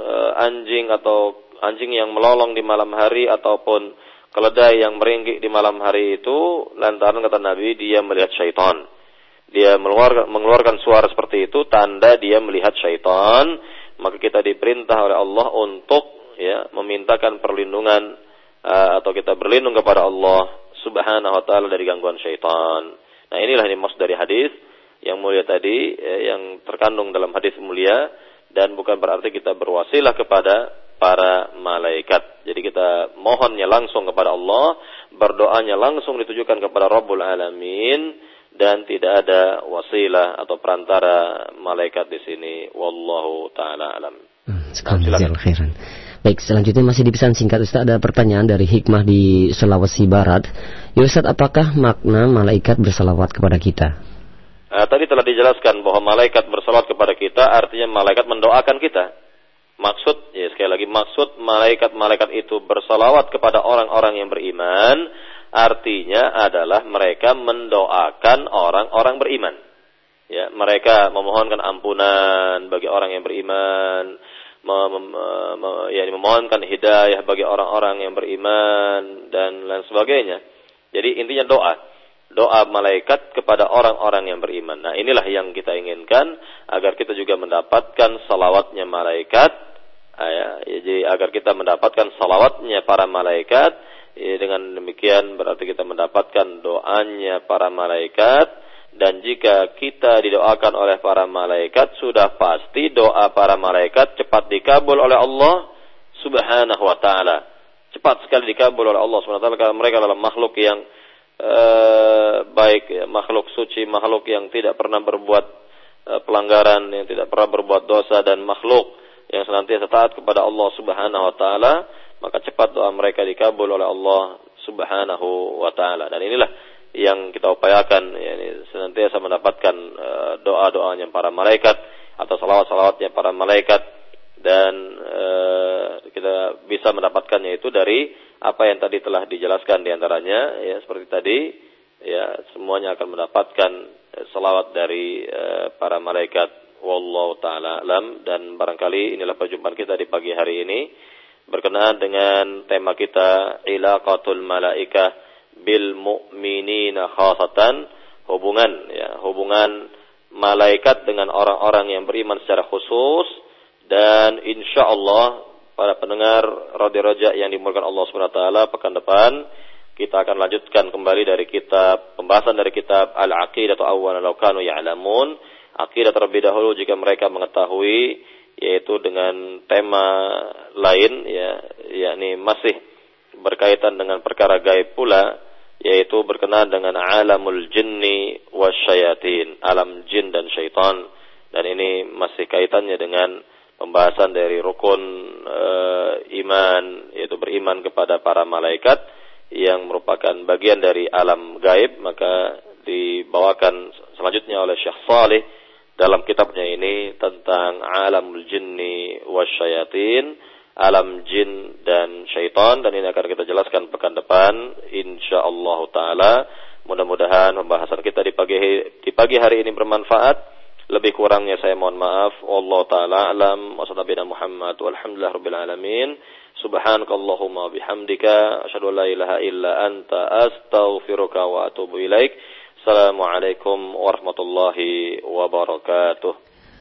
anjing yang melolong di malam hari ataupun keledai yang meringkik di malam hari itu lantaran kata Nabi dia melihat syaitan. Dia mengeluarkan suara seperti itu tanda dia melihat syaitan, maka kita diperintah oleh Allah untuk ya memintakan perlindungan atau kita berlindung kepada Allah Subhanahu wa taala dari gangguan syaitan. Nah, inilah yang dimaksud dari hadis yang mulia tadi yang terkandung dalam hadis mulia, dan bukan berarti kita berwasilah kepada para malaikat. Jadi kita mohonnya langsung kepada Allah, berdoanya langsung ditujukan kepada Rabbul Alamin, dan tidak ada wasilah atau perantara malaikat di sini. Wallahu taala alam. Jazakallahu khairan. Baik, selanjutnya masih di pesan singkat Ustaz, ada pertanyaan dari Hikmah di Sulawesi Barat. Ya Ustaz, apakah makna malaikat bersalawat kepada kita? Tadi telah dijelaskan bahwa malaikat bersalawat kepada kita artinya malaikat mendoakan kita. Maksud, ya sekali lagi, maksud malaikat-malaikat itu bersalawat kepada orang-orang yang beriman, artinya adalah mereka mendoakan orang-orang beriman. Ya, mereka memohonkan ampunan bagi orang yang beriman, memohonkan hidayah bagi orang-orang yang beriman dan lain sebagainya. Jadi intinya doa malaikat kepada orang-orang yang beriman. Nah, inilah yang kita inginkan, agar kita juga mendapatkan salawatnya malaikat. Jadi agar kita mendapatkan salawatnya para malaikat. Dengan demikian berarti kita mendapatkan doanya para malaikat. Dan jika kita didoakan oleh para malaikat, sudah pasti doa para malaikat cepat dikabul oleh Allah Subhanahu wa taala. Cepat sekali dikabul oleh Allah Subhanahu wa taala, karena mereka adalah makhluk yang baik, ya, makhluk suci, makhluk yang tidak pernah berbuat pelanggaran, yang tidak pernah berbuat dosa, dan makhluk yang senantiasa taat kepada Allah Subhanahu wa taala, maka cepat doa mereka dikabul oleh Allah Subhanahu wa taala. Dan inilah yang kita upayakan, yakni senantiasa mendapatkan doa-doanya para malaikat atau salawat-salawatnya para malaikat, dan kita bisa mendapatkannya itu dari apa yang tadi telah dijelaskan diantaranya, ya seperti tadi, ya semuanya akan mendapatkan salawat dari para malaikat. Wallahu taala alam. Dan barangkali inilah perjumpaan kita di pagi hari ini berkenaan dengan tema kita ilaqatul malaikah bil mu'minina khasatan, hubungan malaikat dengan orang-orang yang beriman secara khusus. Dan insyaallah para pendengar Radio Raja yang dimuliakan Allah Subhanahu wa taala, pekan depan kita akan lanjutkan kembali dari pembahasan dari kitab Al-Aqidah atau Awwalan Law Kanu Ya'lamun, akidah terlebih dahulu jika mereka mengetahui, yaitu dengan tema lain, ya yakni masih berkaitan dengan perkara gaib pula, yaitu berkenaan dengan alamul jinni wasyayatin, alam jin dan syaitan. Dan ini masih kaitannya dengan pembahasan dari rukun iman, yaitu beriman kepada para malaikat yang merupakan bagian dari alam gaib. Maka dibawakan selanjutnya oleh Syekh Salih dalam kitabnya ini tentang alamul jinni wasyayatin, alam jin dan syaitan, dan ini akan kita jelaskan pekan depan insyaallah taala. Mudah-mudahan pembahasan kita di pagi hari ini bermanfaat. Lebih kurangnya saya mohon maaf. Wallahu taala alam. Wassallallahu Muhammad walhamdulillah rabbil alamin. Subhanakallahumma bihamdika asyhadu an la ilaha illa anta astaghfiruka wa atubu ilaik. Assalamualaikum warahmatullahi wabarakatuh.